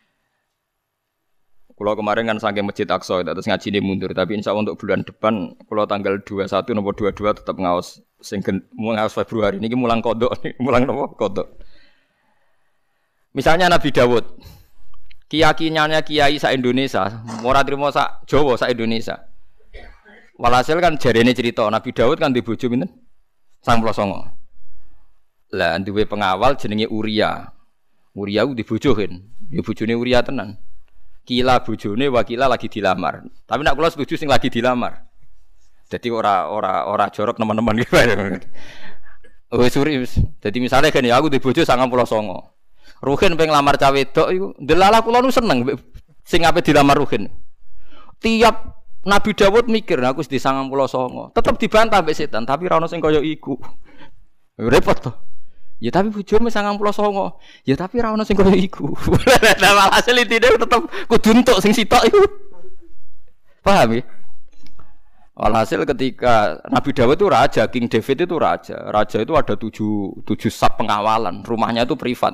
Kula kemarin kan saking Masjid Aqsa terus ngajine mundur tapi insyaallah untuk bulan depan kula tanggal dua puluh satu napa dua puluh dua tetap ngaos sing ngaos Februari niki mulang kodok mulang napa kodok. Misalnya Nabi Dawud. Keyakinannya kiai sak Indonesia, ora trimo sak Jawa sak Indonesia. Walhasil kan jarene cerita Nabi Dawud kan di bojo pinten? sembilan puluh sembilan. Lah duwe pengawal jenenge Uria. Uria ku di bojo kan. Ya bojone Uria tenan. Kila bojone wakila lagi dilamar. Tapi nek kula setuju sing lagi dilamar. Jadi ora ora ora jorok teman-teman gitu. Oh suri. Jadi misalnya kan ya aku di bojo sembilan puluh sembilan. Ruhin pengen lamar cawe wedok iku. Delala kula nu seneng sing ape dilamar Ruhin. Tiap Nabi Dawud mikir, nah, aku wis di sangang puluh songo. Tetep dibantah mbek setan, tapi ra ono sing kaya iku. Repot to. Ya tapi bojomu sangang puluh songo. Ya tapi ra ono sing kaya iku. Lah walhasil intine tetep kudu entuk sing sitok iku. Paham ya? Walhasil ketika Nabi Dawud itu raja, King David itu raja. Raja itu ada tujuh, tujuh sub pengawalan. Rumahnya itu privat.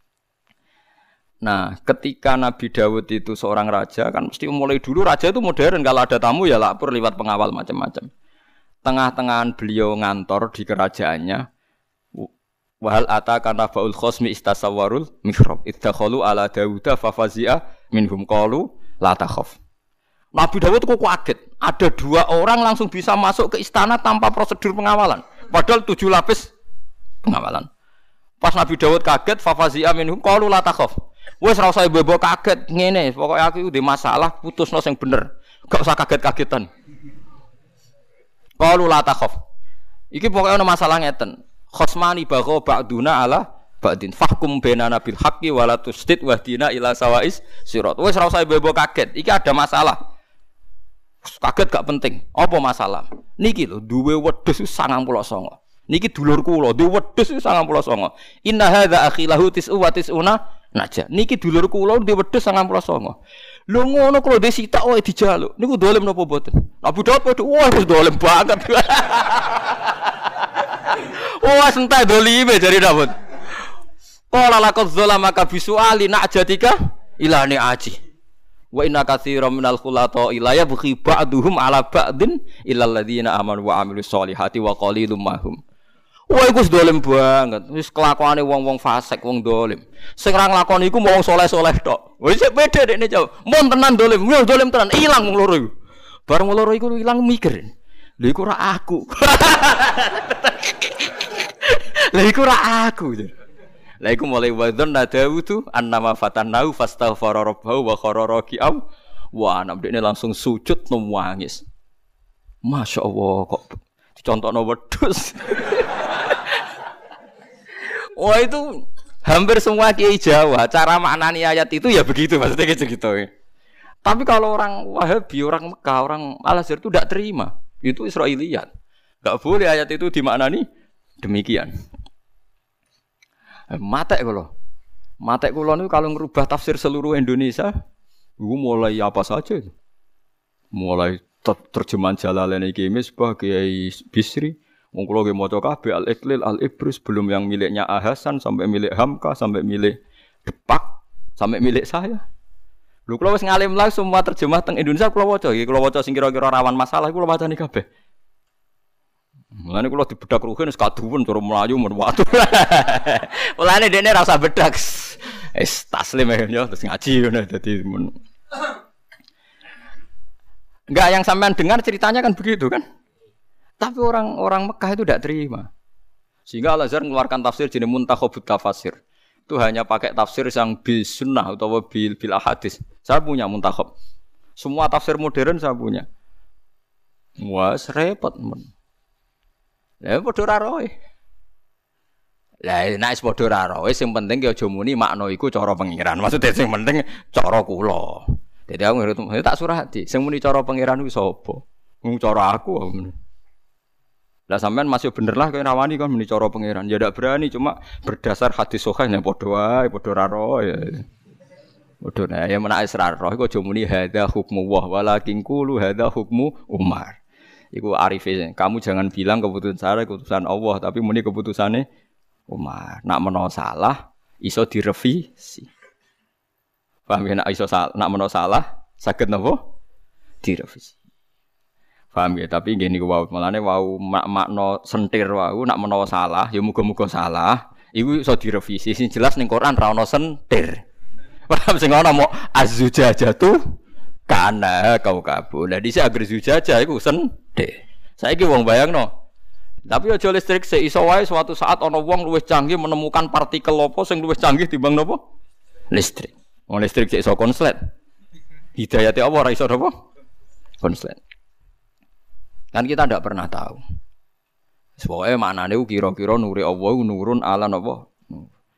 Nah, ketika Nabi Dawud itu seorang raja, kan mesti mulai dulu raja itu modern. Kalau ada tamu ya lapor lewat pengawal macam-macam. Tengah-tengahan beliau ngantor di kerajaannya. Wahal ataka nabaul khosmi istasawarul mihrab. Iddakhalu ala Dawuda fafazi'a minhum qalu la takhaf. Nabi Dawud kok kaget. Ada dua orang langsung bisa masuk ke istana tanpa prosedur pengawalan. Padahal tujuh lapis pengawalan. Pas Nabi Dawud kaget, fafazi'a minhum qalu la takhaf. Wes ora usah bebo kaget ngene, pokoke aku iki ndek masalah putusno sing bener. Gak usah kaget-kagetan. Qalu la takhaf. Iki pokoke ana masalah ngeten. Khosmani bagha ba'duna ala ba'din fahkum bainana bil haqqi wa la tusdid wahdina ila sawais sirat. Wes ora usah bebo kaget. Iki ada masalah. Kaget gak penting. Apa masalah? Niki lho duwe wedhus sangang puluh songo. Niki dulurku lho, duwe wedhus sangang puluh songo. Inna hadza akhilahu tis'u wa tis'una naja. Niki dulur kula duwe wedhus sangang puluh songo. Lho ngono kula dhe sitok wae dijaluk. Niku dolem napa mboten? Abu Daud padha wah wis dolem banget. Wah sentai dolime jare Daud. Qala laqad zalamaka bisuali najatika ilani aji. Wa inna katsiran minal khulata ila yabghi ba'duhum ala ba'din illal ladzina amanu wa amilus solihati wa qalilum mahum. Wah iku wis dolem banget. Wis kelakuane wong-wong fasik, wong dolim. Sing ra nglakoni iku wong saleh-saleh tok. Wis beda dekne jauh. Mun tenan dolim, yo dolim tenan, ilang wong loro iku. Bareng wong loro iku ilang mikir. Lha iku ra aku. Lha iku ra aku. Lha iku mulai wadon Dawud annama fatanau fastaghfara rabbahu wa khara raki'am. Wah, anak dekne langsung sujud nangis. Masyaallah kok dicontokno wedhus. Wah itu hampir semua kiai Jawa cara maknani ayat itu ya begitu maksudnya gitu-gitu. Tapi kalau orang Wahabi, orang Mekah, orang Al-Azhar itu tidak terima. Itu Israiliyat. Enggak boleh ayat itu dimaknani demikian. Matek kula. Matek kula niku kalau ngerubah tafsir seluruh Indonesia, itu mulai apa saja itu. Mulai terjemahan Jalalain Ki Misbah, Kiai Bisri. Wong kula nggih maca kabeh Al-Iqlil, Al-Ibris, belum yang miliknya Ahasan sampai milik Hamka, sampai milik Depak, sampai milik saya. Lho kula wis ngalim lah semua terjemah teng Indonesia kula waca iki, kula waca sing kira-kira rawan masalah kula wacani kabeh. Mulane kula dibedak ruhin wis kaduwen cara mlayu men watu. Mulane dene ra usah bedak. Wis taslim ya terus ngaji ngono dadi men. Enggak yang sampean dengar ceritanya kan begitu kan? Tapi orang-orang Mekah itu tidak terima. Sehingga Al-Azhar mengeluarkan tafsir jenis Muntakhabut Tafasir. Itu hanya pakai tafsir yang bil sunnah atau bil bil ahadis. Saya punya Muntakhab. Semua tafsir modern saya punya. Wah, repot men. Lah padha ra roe. Lah nek padha ra roe sing penting ki aja muni makna iku cara pengiran. Maksudnya sing penting cara kula. Dadi aku tak surati. Sing muni cara pengiran kuwi sapa? Wong cara aku. Lah sampean masih bener lah kowe rawani kan muni cara pangeran. Ya ndak berani cuma berdasar hadis sahih nek padha wae padha ra ro ya. Padha nek ya menak israr roh iku aja muni hadza hukmu wa walakin qulu hadza hukmu Umar. Iku arife. Kamu jangan bilang keputusan saya keputusan Allah tapi muni keputusane Umar. Nak menawa salah iso direvisi. Paham ya nak iso salah, nak menawa salah saged napa? Direvisi. Paham ya, tapi nggih niku wau malane wau makna sentir wau nak menawa salah ya muga-muga salah iku iso direvisi sing jelas ning Quran ra ono sentir. Paham sing ana mau az-zujajatu kana kaukabu. Lah dhisik agar zujajah iku sentir. Saiki wong bayangno. Tapi aja listrik sik iso wae suatu saat ana wong luwih canggih menemukan partikel apa sing luwih canggih timbang napa? Listrik. Wong listrik sik iso konslet. Hidayate apa ora iso napa? Konslet. Kan kita tidak pernah tahu. Pokoknya maknanya kira-kira nuri Allah nurun ala napa.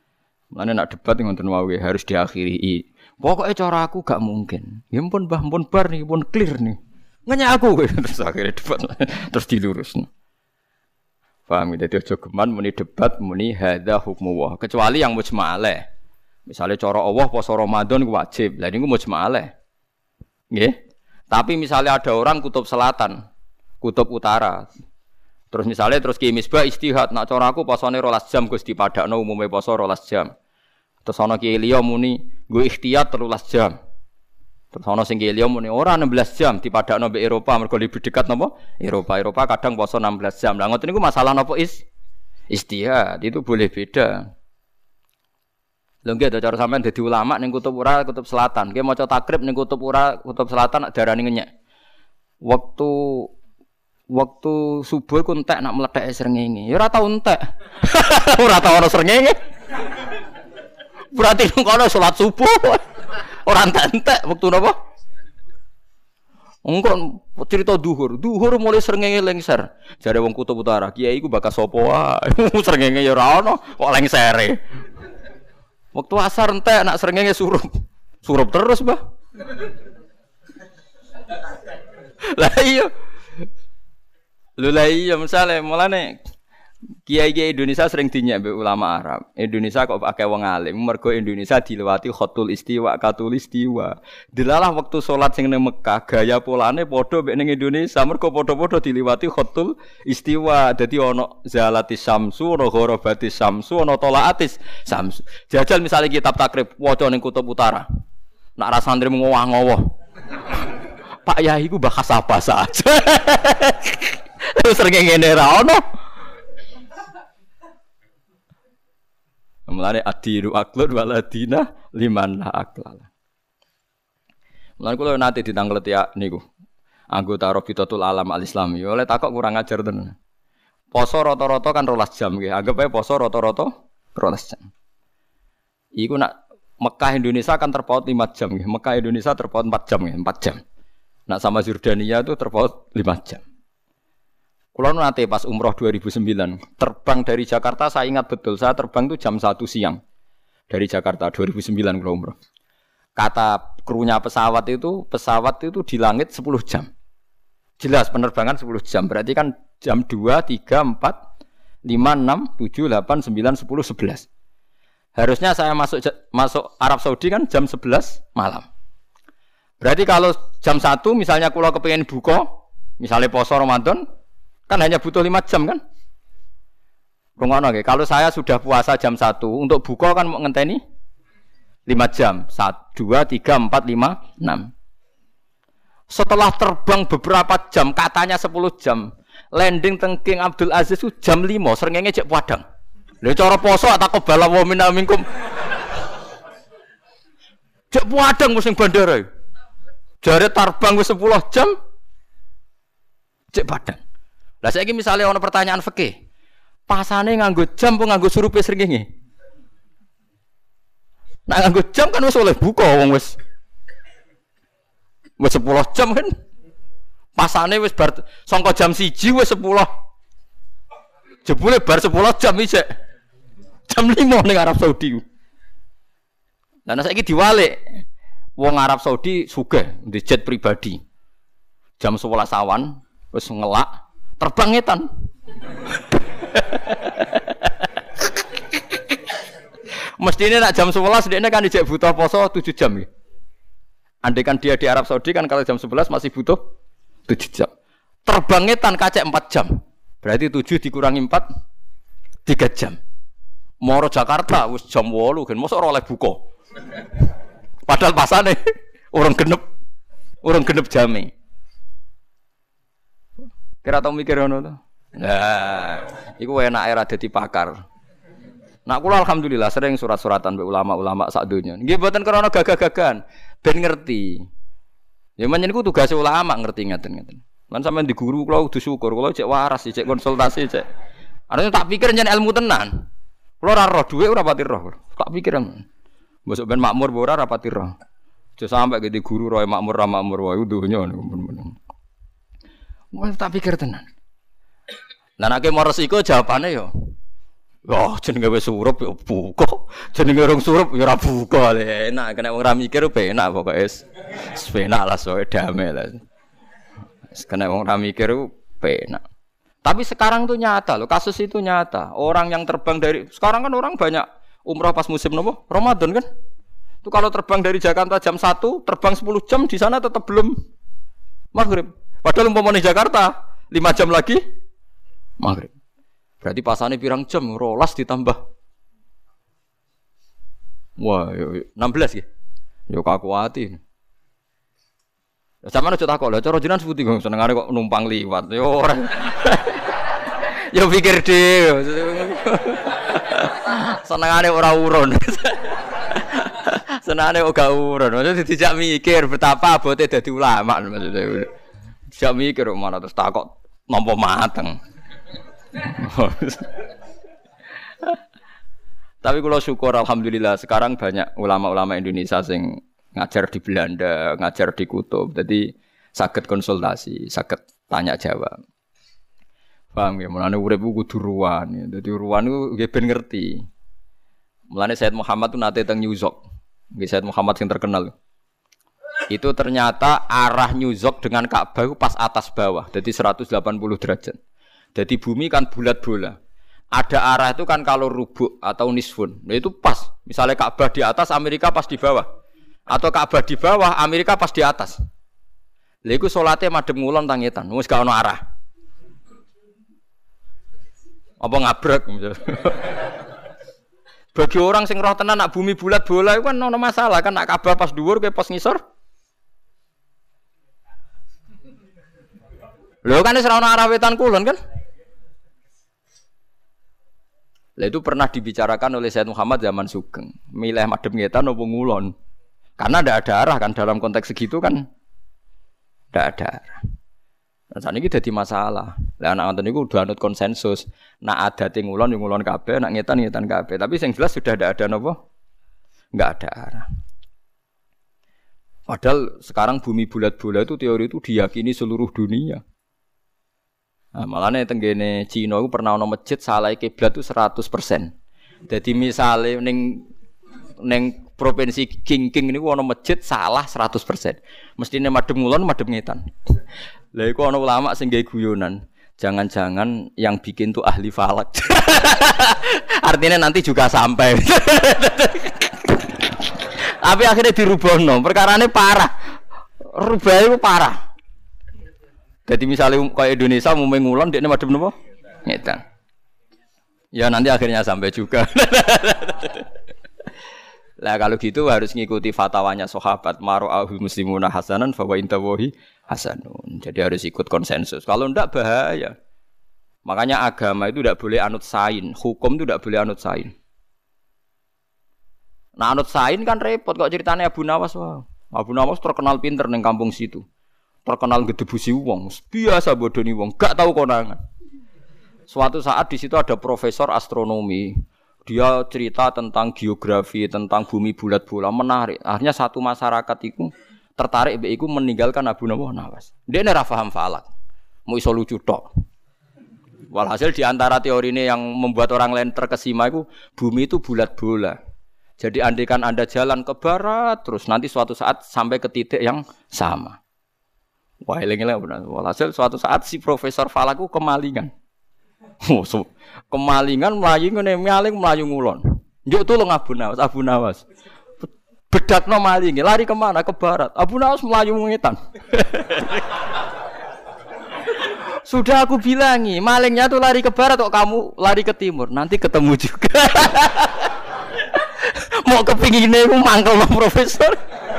Mulane nak debat ngoten wae harus diakhiri. Pokoknya cara aku gak mungkin. Ya pun Mbah pun bar nih, pun clear nih. Ngenyak aku terus akhirnya debat terus dilurus. Paham ya? Jadi aja geman muni debat muni hadza hukmu. Kecuali yang mujma' alaih. Misalnya cara Allah puasa Ramadan wajib. Lah niku mujma' alaih. Nggih. Tapi misalnya ada orang kutub selatan, kutub utara. Terus misalnya terus Ki Misbah istihad, nak cara aku posone rolas jam Gus dipadakno umume poso rolas jam. Terus ana Ki Liya muni nggo ikhtiyat telulas jam. Terus ana sing Ki Liya muni ora enam belas jam dipadakno mbek Eropa mergo lebih dekat napa? Eropa. Eropa kadang poso enam belas jam. Lah ngoten niku masalah napa is istihad, itu boleh beda. Lho nggih to cara sampean dadi ulama ning kutub ura kutub selatan. Nggih maca takrib ning kutub ura kutub selatan nak darani ngenyek. Waktu waktu subuh ku entek nak mletheke srengenge. Ya ora tau entek. Ora tau ana srengenge. Berarti nang kono salat subuh. Ora entek-entek wektu napa? Engko cerita duhur. Duhur mulai srengenge lengser. Jare wong kutub utara, kiai ku bakas sapa wae. Srengenge ya ora ana kok lengsere. Waktu asar entek nak srengenge surup. Surup terus, Mbah. Lah iya. Lho lah iya misale mulane kiai-kiai Indonesia sering dinyak mbek ulama Arab. Indonesia kok akeh wong alim mergo Indonesia dilewati khatul istiwa, katul istiwa. Delalah waktu salat sing ning Mekah gaya polane padha mbek ning Indonesia mergo padha-padha dilewati khatul istiwa. Dadi ana zalatis samsu, ana gharabatis samsu, ana talaatis samsu. Jajal misalnya kitab takrib waca ning kutub utara. Nak ra santri ngowah-ngowah. Pak Yai ku bahas apa saja. Terus srengenge ngene ra ono. Mulane adiru aklun waladina liman la aklal. Mulane kula nate ditanglet ya niku. Anggota Rabitatul Alam Al-Islami. Oleh takok kurang ajar tenan. Poso rata-rata kan rolas jam nggih. Anggap ae poso rata-rata rolas jam. Iku nak Mekah Indonesia kan terpaut lima jam nggih. Mekah Indonesia terpaut empat jam nggih, empat jam. Nak sama Jordania itu terpaut lima jam. Kulo nate pas umroh dua ribu sembilan, terbang dari Jakarta saya ingat betul, saya terbang itu jam satu siang. Dari Jakarta dua ribu sembilan kulo umroh. Kata krunya pesawat itu, pesawat itu di langit sepuluh jam. Jelas penerbangan sepuluh jam, berarti kan jam dua, tiga, empat, lima, enam, tujuh, delapan, sembilan, sepuluh, sebelas. Harusnya saya masuk masuk Arab Saudi kan jam sebelas malam. Berarti kalau jam satu misalnya kulo kepengin buka, misalnya poso Ramadan, kan hanya butuh lima jam kan? Rungono nggih. Kalau saya sudah puasa jam satu, untuk buka kan mau ngenteni lima jam. satu, dua, tiga, empat, lima, enam. Setelah terbang beberapa jam, katanya sepuluh jam. Landing teng King Abdul Aziz itu jam lima, srengenge cek padang. Lha cara poso tak kebala wa minna minkum. Cek padang wis ning bandara. Jare terbang wis sepuluh jam. Cek padang. Lah saiki misale ana pertanyaan fikih. Pasane nganggo jam apa nganggo surupe srengenge? Nek nganggo jam kan wis oleh buka wong wis. Wis sepuluh jam kan. Pasane wis bar sangka jam siji wis sepuluh. Jebule bar sepuluh jam isik. Jam lima ning Arab Saudi. Lah saiki diwalik. Wong Arab Saudi sugih ndek jet pribadi. Jam sebelas awan wis ngelak terbang ngetan. Mestine nak jam sebelas dekne kan dijek butuh poso tujuh jam ya. Andai kan dia di Arab Saudi kan kalau jam sebelas masih butuh tujuh jam. Terbang ngetan kacek empat jam. Berarti tujuh dikurangi empat tiga jam. Moro Jakarta wis jam delapan kan mosok ora oleh buka. Padahal pasane orang genep orang genep jame. Kira tau mikir ngono to? Nah, iku enake ra dadi pakar. Nak kula alhamdulillah sering surat-suratan mbek ulama-ulama sak donya. Nggih mboten krana gagah-gagahan, ben ngerti. Ya menyen iku tugas ulama ngerti ngaten-ngaten. Lan sampean di guru kula kudu syukur, kula cek waras, cek konsultasi, cek. Arene tak pikir nyen ilmu tenan. Kula ora roh dhuwit ora pati roh. Tak pikir. Mbok ben makmur ora ora pati roh. Aja sampe gede guru roe makmur ra makmur wae donya niku. Wah tak pikir tenan. Lah nek mau resiko jawabane yo Oh, jenenge wis surup ya buka. Jenenge urung surup ya ora buka. Enak kena wong ra mikir penak pokoke wis. Wis penak lah soe damai lah. Wis kena wong ra mikir penak. Tapi sekarang tuh nyata loh, kasus itu nyata. Orang yang terbang dari sekarang kan orang banyak umrah pas musim nopo? Ramadan kan? Itu kalau terbang dari Jakarta jam satu, terbang sepuluh jam di sana tetap belum maghrib. Padahal umpamanya Jakarta lima jam lagi maghrib. Berarti pasane pirang jam, rolas ditambah. Wah, enam belas ya. Yo kakuati. Sampeyan aja takok lho, cara jenengan seputi kok senengane kok numpang liwat. Yo ora. Yo pikir dhewe. Senengane ora urun. Senengane ora urun. Maksudnya dijak mikir betapa abote dadi ulama maksudnya. Dijak mikir kok malah terus takok nampa mateng. Tapi kalau syukur alhamdulillah sekarang banyak ulama-ulama Indonesia sing ngajar di Belanda, ngajar di Kutub. Jadi saged konsultasi, saged tanya jawab. Paham ya, mulane urip ku kudu ruwan. Dadi ruwan ku nggih ben ngerti. Mulane Said Muhammad tu nate teng New York. Nggih Said Muhammad sing terkenal. Itu ternyata arah New York dengan Ka'bah itu pas atas bawah, jadi seratus delapan puluh derajat. Jadi bumi kan bulat bola. Ada arah itu kan kalau rubuk atau nisfun. Nah itu pas. Misalnya Ka'bah di atas, Amerika pas di bawah. Atau Ka'bah di bawah, Amerika pas di atas. Lha iku salate madhep ngulon tangetan. Wis gak ono arah. Apa ngabrek misalnya. Bagi orang sing roh tenan nak bumi bulat bola itu kan ono masalah kan nak Ka'bah pas dhuwur kowe pas ngisor. Lho kan wis ora ono arah wetan kulon kan? Lah itu pernah dibicarakan oleh Said Muhammad zaman Sugeng. Milih madhep ngetan apa ngulon. Karena ndak ada arah kan dalam konteks segitu kan ndak ada arah. Nah, saat ini jadi masalah. Lah anak ngoten niku udah anut konsensus. Nak adate ngulon yo ngulon kabeh, nak ngetan ngetan kabeh. Tapi sing jelas sudah ndak ada napa? Enggak ada arah. Padahal sekarang bumi bulat bola itu teori itu diyakini seluruh dunia. Nah, malahnya tenggene Cina itu pernah ono masjid salah kiblat itu seratus persen. Jadi misalnya neng neng provinsi King-King ini ono masjid salah seratus persen. Mestinya madhep ngulon madhep ngetan. Lah iku ono ulama sing gawe guyonan. Jangan-jangan yang bikin tuh ahli falak. Artinya nanti juga sampai. Tapi akhirnya dirubahno. Perkarane parah. Rubah itu parah. Jadi misalnya kayak Indonesia mau ngulon dia madhep napa? Ngetan. Ya nanti akhirnya sampai juga. Lah kalau gitu harus ngikuti fatwanya sahabat mara'ahul muslimuna hasanan fa wa intawahi hasanun. Jadi harus ikut konsensus. Kalau ndak bahaya. Makanya agama itu ndak boleh anut sain, hukum itu ndak boleh anut sain. Nah anut sain kan repot kok ceritanya Abu Nawas wah. Abu Nawas terkenal pinter ning kampung situ. Terkenal gedebusi wong, biasa bodoni wong, gak tahu konangan. Suatu saat di situ ada profesor astronomi, dia cerita tentang geografi, tentang bumi bulat bola, menarik. Akhirnya satu masyarakat itu tertarik, be iku meninggalkan Abu Nawas. Dia ora paham falak, mau iso lucu tok. Walhasil di antara teori ini yang membuat orang lain terkesima itu bumi itu bulat bola. Jadi andaikan Anda jalan ke barat, terus nanti suatu saat sampai ke titik yang sama. Wah, eling-eling benar. Walhasil suatu saat si Profesor Falaku kemalingan. Oh, so, kemalingan mlayu ngene maling mlayu ngulon. Njuk tulung Abu Nawas, Abu Nawas. Bedakno malinge, lari kemana? Ke barat. Abu Nawas mlayu ngetan. Sudah aku bilangi, malingnya tuh lari ke barat kok kamu lari ke timur. Nanti ketemu juga. Mau kepingine ku mangkel no profesor.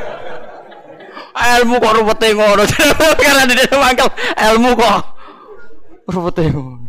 Ilmu kok rupete ngono. Karena dia mangkel ilmu kok rupete ngono.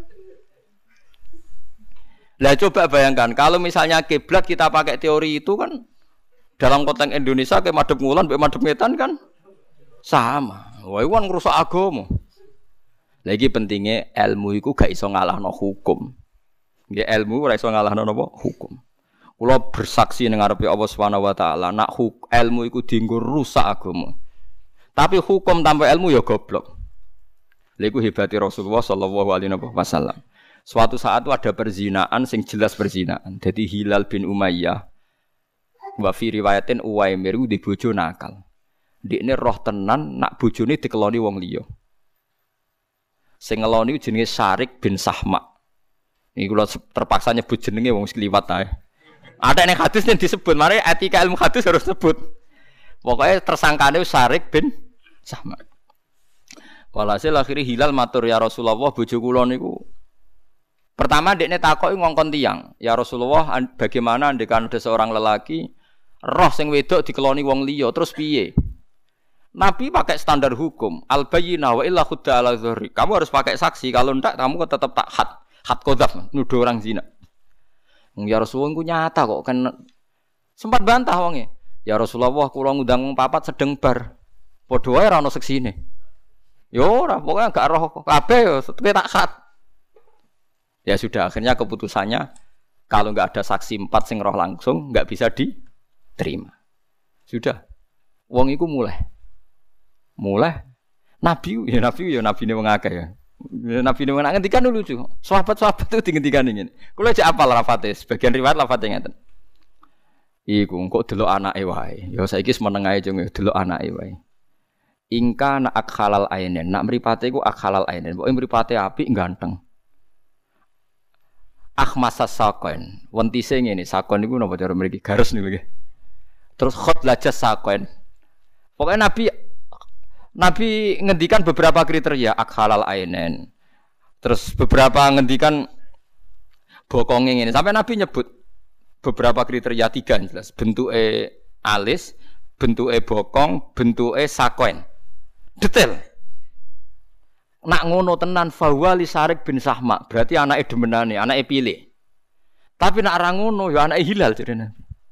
Lah coba bayangkan kalau misalnya kiblat kita pakai teori itu kan dalam konteks Indonesia kayak madhep ngulon mbek madhep ngetan kan sama. Wah iku kan ngrusak agama. Lagi pentingnya ilmu iku gak iso ngalahno hukum. Nggih ilmu ora iso ngalahno napa hukum. Kula bersaksi ning ngarepe Allah Subhanahu wa taala, nak ilmu iku dienggo rusak agama. Tapi hukum tanpa ilmu ya goblok. Lha iku hebate Rasulullah sallallahu alaihi wasallam. Suatu saat itu ada perzinaan sing jelas perzinaan. Jadi Hilal bin Umayyah wa fi riwayatin Uwaimir di bojo nakal. Ndekne roh tenan nak bojone dikeloni wong liya. Sing ngeloni jenenge Syarik bin Sahma. Iki kula terpaksa nyebut jenenge wong sekliwat ae. Ada ning hadis yang disebut, mari etika ilmu hadis harus sebut. Pokoknya tersangkane Syarik bin Sahma. Walhasil akhirnya Hilal matur ya Rasulullah bojo kula niku. Pertama dekne takoki ngongkon tiyang, ya Rasulullah bagaimana andekan ada seorang lelaki roh sing wedok dikeloni wong liya terus piye? Nabi pakai standar hukum, al bayyinah wa illa khudda ala dzahri. Kamu harus pakai saksi, kalau ndak kamu tetap tak had, had qadzaf, nuduh orang zina. Ya Rasulullah ku nyata kok kan sempat bantah wonge. Ya Rasulullah kula ngundang wong papat sedeng bar. Padha wae ora ono seksine. Ya ora, pokoke gak roh kabeh ya tak had. Ya sudah, akhirnya keputusannya kalau nggak ada saksi empat sing roh langsung nggak bisa diterima. Sudah, wong iku mulai, mulai Nabi, ya Nabi, ya Nabi ini mengakeh ya. Ya Nabi ini mengakeh, ngendikan dulu lucu. Sahabat-sahabat itu ngendikan ingin. Kalau aja apal lafate, sebagian riwayat lafate ngeten. Iku kok delok anake wae. Ya saiki wis meneng ae jeng delok anake wae. Ingka nak akhalal ainen, nak mripate iku akhalal ainen. Pokoke mripate apik ganteng. Akhmasas sakoen, wentise ngene, sakon niku napa cara mriki gares niku nggih. Terus khot lajas sakoen. Pokoke Nabi Nabi ngendikan beberapa kriteria akhalal ainen. Terus beberapa ngendikan bokonge ngene. Sampai Nabi nyebut beberapa kriteria tiga jelas. Bentuke alis, bentuke bokong, bentuke sakoen. Detail. Nak ngono tenan fawali Syarik bin Sahma, berarti anake demenane, anake pilih. Tapi nak ra ngono ya anake Hilal jadinya.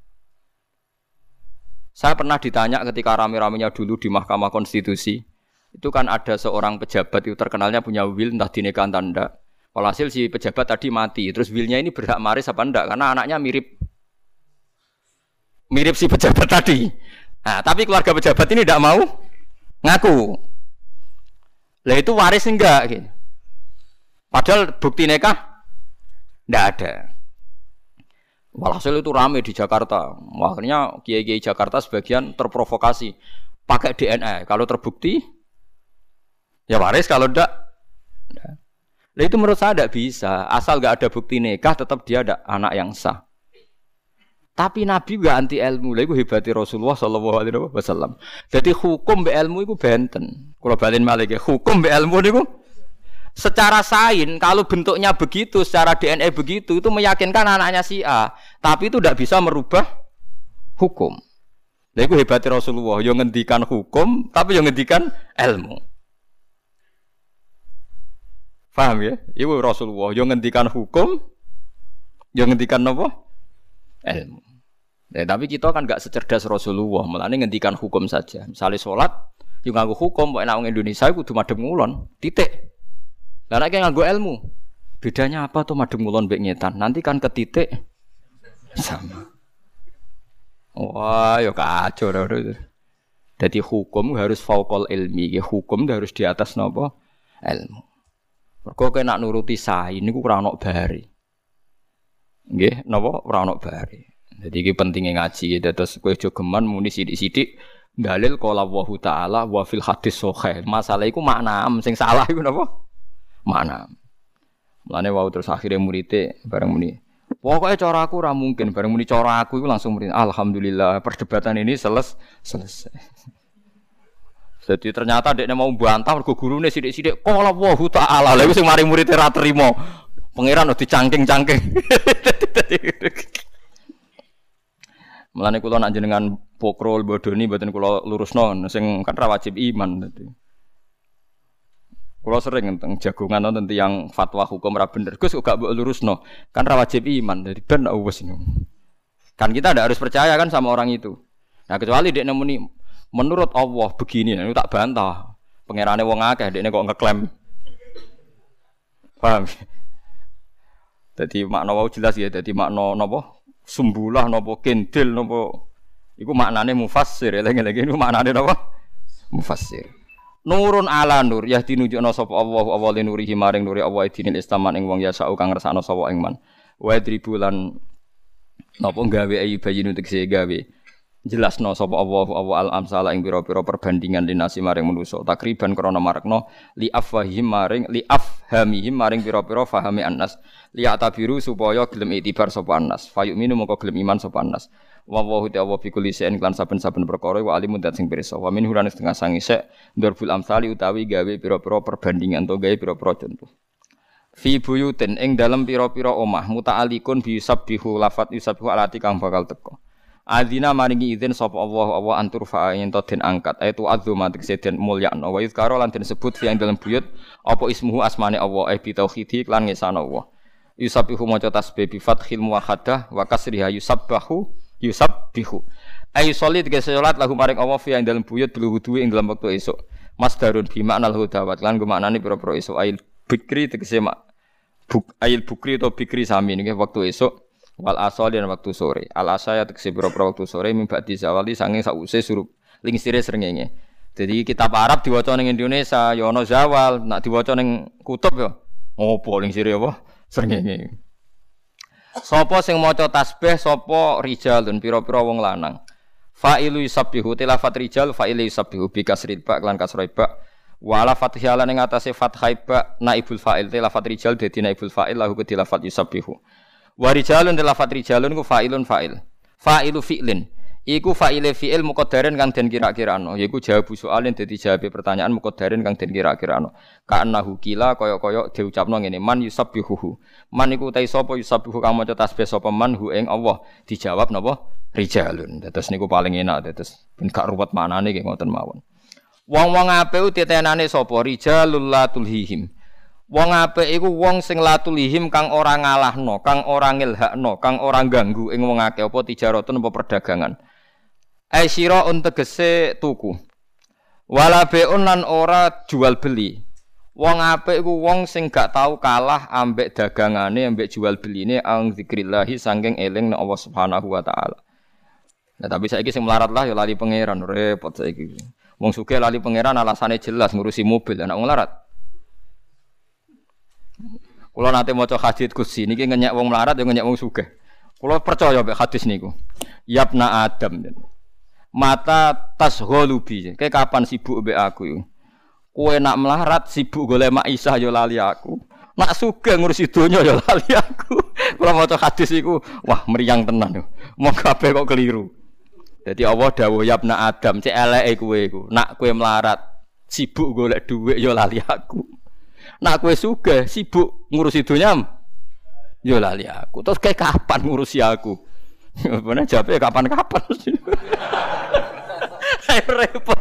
Saya pernah ditanya ketika rame-ramenya dulu di Mahkamah Konstitusi, itu kan ada seorang pejabat itu terkenalnya punya will entah dinikah entah ndak. Walhasil si pejabat tadi mati, terus willnya ini berhak waris apa ndak karena anaknya mirip mirip si pejabat tadi. Nah, tapi keluarga pejabat ini ndak mau ngaku. Lah itu waris enggak gitu. Padahal bukti nikah enggak ada. Walhasil itu ramai di Jakarta. Akhirnya kiai-kiai Jakarta sebagian terprovokasi pakai D N A. Kalau terbukti ya waris, kalau enggak enggak. Lah itu menurut saya enggak bisa. Asal enggak ada bukti nikah tetap dia ada anak yang sah. Tapi Nabi enggak anti ilmu. Lah iku hebate Rasulullah sallallahu alaihi wasallam. Jadi hukum be ilmu iku benten. Kalau balen malih ya, hukum be ilmu niku secara sain kalau bentuknya begitu, secara D N A begitu itu meyakinkan anaknya si A, tapi itu tidak bisa merubah hukum. Lha iku hebate Rasulullah, yo ngendikan hukum tapi yo ngendikan ilmu. Paham ya? Iku Rasulullah yo ngendikan hukum, yo ngendikan napa? Ilmu. Ya, tapi kita kan enggak secerdas Rasulullah, mulane ngendikan hukum saja. Misalnya salat yo nganggo hukum, pokoke nek wong Indonesia kudu madhep ngulon, titik. Lah nek nganggo ilmu, bedanya apa tuh madhep ngulon mbek ngetan? Nanti kan ke titik sama. Wah, yo kacau dah. Jadi hukum harus fauqal ilmi, hukum harus di atas napa? Ilmu. Mergo kena nuruti sain niku ora ono bare. Nggih, napa ora ono bare. Jadi iki pentinge ngaji, dados kowe aja geman muni sithik-sithik dalil qala Allahu taala wa fil hadis sahih. Masalah iku makna sing salah iku napa? Makna. Mulane wau terus akhire murite bareng muni. Pokoke cara aku ora mungkin, bareng muni cara aku iku langsung muni alhamdulillah perdebatan ini seles selesai. Jadi ternyata dekne mau bantah mergo gurune sithik-sithik qala Allahu taala. Lha iku sing mari murite ra trimo. Pangeran dicangking-cangking. Mulane kula nak jenengan pokrol bodoni mboten kula lurusno sing kan ra wajib iman dadi. Kula sering teng jagongan nonton tiyang fatwa hukum ra bener. Gus kok gak mbok lurusno. Kan ra wajib iman dadi ben wis niku. Kan kita ndak harus percaya kan sama orang itu. Nah kecuali dekne muni menurut Allah begini, niku tak bantah. Pangerane wong akeh dekne kok ngeklaim. Paham? Dadi makna wau jelas ya, dadi makna napa? Sumbulah napa kendil napa iku maknane mufassir, eling-eling niku maknane napa? Mufassir. Nurun ala nur ya tinunjukna sapa Allah Allah nurihi maring nuri Allah dinil islaman ing wong ya sak kang ngersakno sapa ing man. Wa dribulan napa gawe ayi bayin tegese gawe jelasno sapa Allah Allah al amsala ing pira-pira perbandingan linasi maring manusa takriban krana marekno li afwahim maring li afhamihim maring pira-pira fahami annas li atabiru supaya gelem itibar sapa annas fayuminu moko gelem iman sapa annas wa wa ta'ala fi kulli shay'in lan saben-saben perkara wa alimun dat sing pirsa wa min hurane setengah sangisek ndarbul amsali utawi gawe pira-pira perbandingan to gawe pira-pira contoh fi buyutin ing dalem pira-pira omah muta'alikun bi sabbihu lafat yusabbihu alati kang bakal teko. Adzina maringi izin sapa Allah Allah antur fa yen to den angkat aitu azuma tegese den mulyakno wa yuzkaro lan den sebut fi ing dalem buyut apa ismuhu asmane Allah eh bi tauhidi lan ngesana Allah. Yusabbihu maca tasbih bi fathil muwahhadah wa kasriha yusabbahu yusabbihu. Ay sholli tegese salat lahu maring Allah fi ing dalem buyut bil wudu ing dalem wektu esuk. Masdarun bi makna hudawat lan gumaknane pira-pira esuk ail bikri tegese mak buk ail bukri atau bikri sami niki waktu esuk wal asal dan waktu sore al asaya tegese pira-pira waktu sore mimba di zawali sange sause surup lingsire srengenge. Jadi kitab Arab diwaca ning Indonesia ya ana zawal, nak diwaca ning kutub ya opo lingsire apa srengenge. Sapa sing maca tasbih sapa rijalun pira-pira wong lanang. Fa'ilu yusabbihu tilafat rijal fa'ilu yusabbihu bi kasril ba lan kasrul ba wala fathihalan ing atase fathai ba naibul fa'il te lafat rijal dadi naibul fa'il lahu kedhi lafat yusabbihu wa rijalun te lafat rijalun ku fa'ilun fa'il fa'ilu fi'lin iku fa'ile fi'il muqaddarin kang den kira-kirano yaiku jawab soalin dadi jawabe pertanyaan muqaddarin kang den kira-kirano ka annahu kila kaya-kaya diucapno ngene man yusabbihu man iku ta sapa yusabbihu kang maca tasbih sapa man hu ing Allah dijawab napa rijalun dados niku paling enak dados ben gak ruwet manane nggih ngoten mawon. Wong-wong apik ditenane sapa rijalul latulhihim. Wong apik iku wong sing latulhihim kang ora ngalahno, kang ora ngilhakno, kang ora ganggu ing wong akeh apa tijaratun apa perdagangan. Ai sira tegese tuku. Wala beun lan ora jual beli. Wong apik iku wong sing gak tau kalah ambek dagangane, ambek jual beline ang zikrillah saking eling nek Allah Subhanahu wa taala. Nah tapi saiki sing melarat lah ya lali pangeran repot saiki. Wong sugih lali pangeran alasane jelas ngurusi mobil anak wong larat. Kula nate maca hadits Qudsi niki ngenyek wong melarat ya ngenyek wong sugih. Kula percaya mek hadis niku. Yabna Adam. Mata tasgholubi. Kayak kapan sibuk mbek aku iku? Kowe nak melarat sibuk golek maisah ya lali aku. Nak sugih ngurusi donya ya lali aku. Kula maca hadis iku wah meriang tenan. Mong kabeh kok keliru. Jadi Allah dawuh yabna Adam cek eleke kowe iku. Nak kowe melarat, sibuk golek dhuwit ya lali aku. Nak kowe sugih, sibuk ngurusi dunya ya lali aku. Terus kayak kapan ngurusi aku? Bener jawabe kapan-kapan. Repot.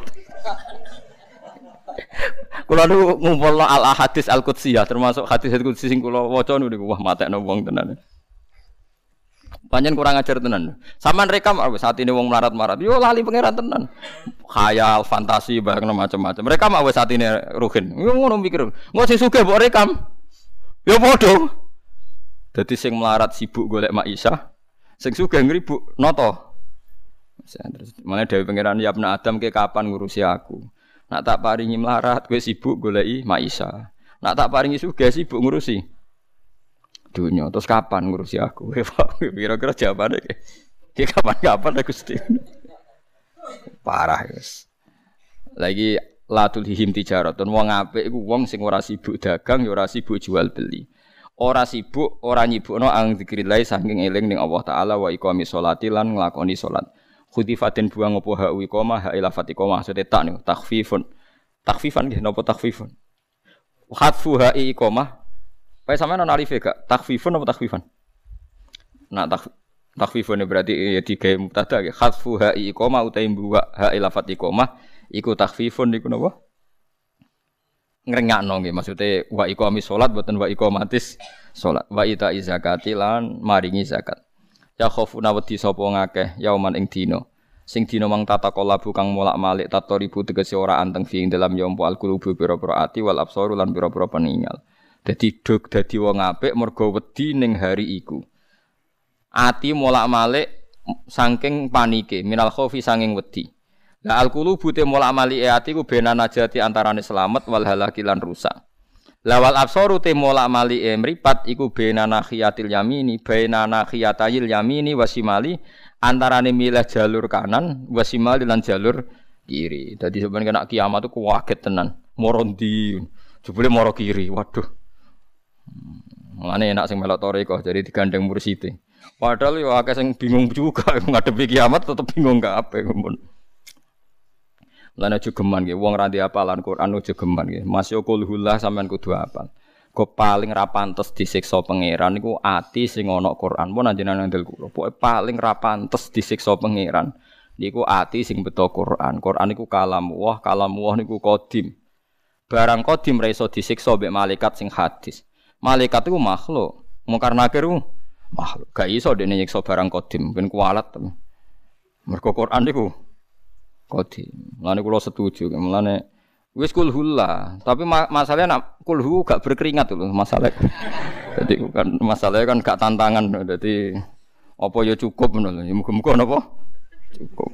Kula nu ngumpulno al hadis al qudsiyah termasuk hadis qudsi sing kula waca niku wah matekno wong tenan. Panjen kurang ajar tenan. Saman rekam saat ini wong melarat-melarat. Yo lali pangeran tenan. Khayal, fantasi bareng macam-macam. Mereka mau saat ini ruhin. Yo ngono mikir. Engko sing sugih mbok rekam. Yo padha. Dadi sing melarat sibuk golek maisha, sing sugih ngribuk noto. Terus malah dewe pangeran ya Ibnu Adam ke kapan ngurusi aku. Nak tak paringi melarat kowe sibuk goleki maisha. Nak tak paringi sugih sibuk ngurusi dunia, terus kapan ngurusi aku? Kira-kira jawabannya kayak kapan-kapan aku Gusti. Parah guys. Lagi latul hihim tijaratun wong apik iku wong sing ora sibuk dagang ya ora sibuk jual beli. Ora sibuk, ora nyibukno ang zikrillah saking eling ning Allah taala wa iqamis sholati lan nglakoni salat. Khudifatin buang apa ha iqamah ha ila fatiqamah maksudnya tak niku takhfifun. Takhfifan nggih napa takhfifun? Khatfu ha iqamah Pak sampean ana alife gak? Takhfifun apa takhfifan? Nah, tak takhfifun berarti ya digawe mubtada nggih. Khatfu ha iqamah utawi buwa ha ila fatiqamah iku takhfifun niku napa? Ngrengakno nggih maksude wa iqamis salat boten wa iqamatis salat. Wa ita zakati lan maringi zakat. Ya khofuna wedi sapa ngakeh yauman ing dina. Sing dina mang tata kalabu kang molak-malik tatoribu tegese ora anteng fi ing dalam yompo alqulubu pira-pira ati wal absaru lan pira-pira peninggal. Dadi dog dadi wong apik mergo wedi ning hari iku. Ati molak-malik saking panike minal khaufi saking wedi. Lah al-qulubu te mola amali ati ku bena najati antarane selamat wal halaki lan rusak. Lawal absaru te mola amali mripat iku bena nakhiyatil yamini bena nakhiyatayil yamini wasimali antarane milih jalur kanan wasimali lan jalur kiri. Dadi sampeyan kena kiamat itu kaget tenan. Moro ndi? Jebule moro kiri. Waduh. Mulane enak sing melok toreko jadi digandeng mursite. Padahal yo akeh sing bingung juga ngadepi kiamat tetep bingung kabeh mun. Mulane aja geman nggih wong ra ndek hafalan Quran aja geman nggih. Masyaqulullah sampean kudu hafal. Kok paling ra pantes disiksa pangeran niku ati sing ana Quran. Mun anjenengan ndel kula. Pokoke paling ra pantes disiksa pangeran niku ati sing beto Quran. Quran niku kalam Allah, kalam Allah niku qadim. Barang qadim ra iso disiksa mbek malaikat sing hadis. Malaikat iku makhluk. Mungkar nakir ku makhluk. Gak iso dene nyiksa barang qadim, ben kualat. Mergo Quran niku qadim. Mulane kula setuju, mulane wis kulhullah, tapi ma masalahnya nak kulhu gak berkeringat lho masalah. Jadi kan masalahnya kan gak tantangan. Jadi apa ya cukup ngono lho. Muga-muga napa? Cukup.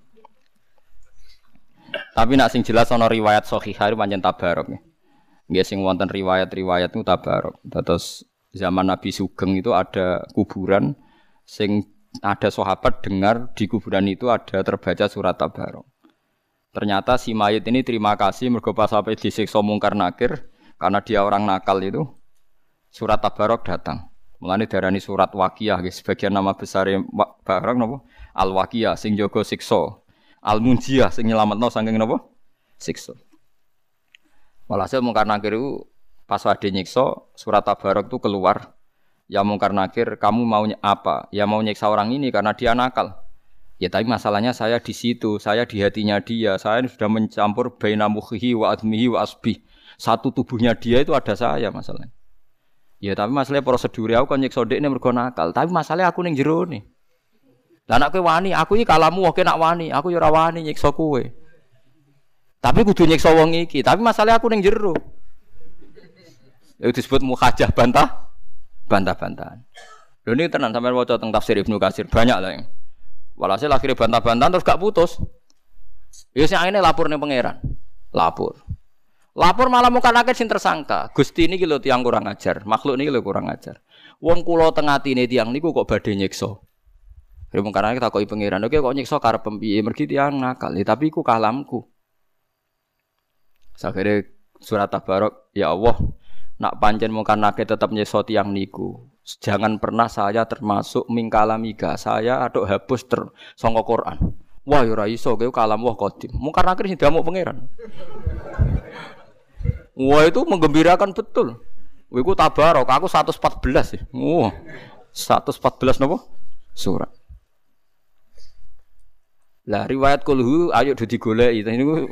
Tapi nak sing jelas ana riwayat sahihah pancen tabarok. Nggih sing wonten riwayat-riwayat niku tabarok. Terus zaman Nabi Sugeng itu ada kuburan sing ada sahabat dengar di kuburan itu ada terbaca surat tabarok. Ternyata si mayit ini terima kasih mergo pas sampai disiksa mungkar nakir karena dia orang nakal itu surat tabarok datang. Mulane darani surat Waqiah nggih sebagian nama besar barang napa Al-Waqiah sing jaga siksa. Al-Munjiyah sing nyelametno saking napa? Siksa. Walhasil mungkar nakir itu pas wade nyiksa surat tabarok itu keluar. Ya mungkar nakir, kamu maunya apa? Ya mau nyiksa orang ini karena dia nakal. Ya tapi masalahnya saya di situ, saya di hatinya dia. Saya sudah mencampur baina mukhihi wa admihi wa asbih. Satu tubuhnya dia itu ada saya masalahnya. Ya tapi masalahnya prosedure aku kan nyiksa dekne mergo nakal. Tapi masalahnya aku ning jero ne. Lah nek kowe wani, aku iki kalamu oke nak wani, aku ya ora wani nyiksa kowe. Tapi kudu nyiksa wong iki, tapi masalahnya aku ning jero. Itu disebut mukhajah bantah, bantah-bantahan. Lho ini tenan sampeyan waca teng tafsir Ibnu Katsir banyak lah yang. Walhasil akhirnya bantah-bantahan terus gak putus. Ya sing akhirnya lapor ning pangeran. Lapor. Lapor malah muka nakit sing tersangka. Gusti niki lho tiyang kurang ajar, makhluk niki lho kurang ajar. Wong kula teng atine tiyang niku kok badhe nyiksa. Ya mung karane takoki pangeran, oke kok nyiksa karep piye? Mergi tiyang nakal, ya, tapi iku kalamku. Sakire surat tabarok, ya Allah, nak pancen mungkar nakit tetap nyiksa tiyang niku. Jangan pernah saya termasuk mingkalamiga, saya aduk hapus ter sangka Quran. Wah ya ora iso kowe kalam wah qadim. Mungkar nakit sing diamuk pangeran. Wah itu menggembirakan betul. Iku tabarok, aku seratus empat belas ya. Wah. seratus empat belas napa? Surat. Lah riwayat kulhu ayo do digoleki niku.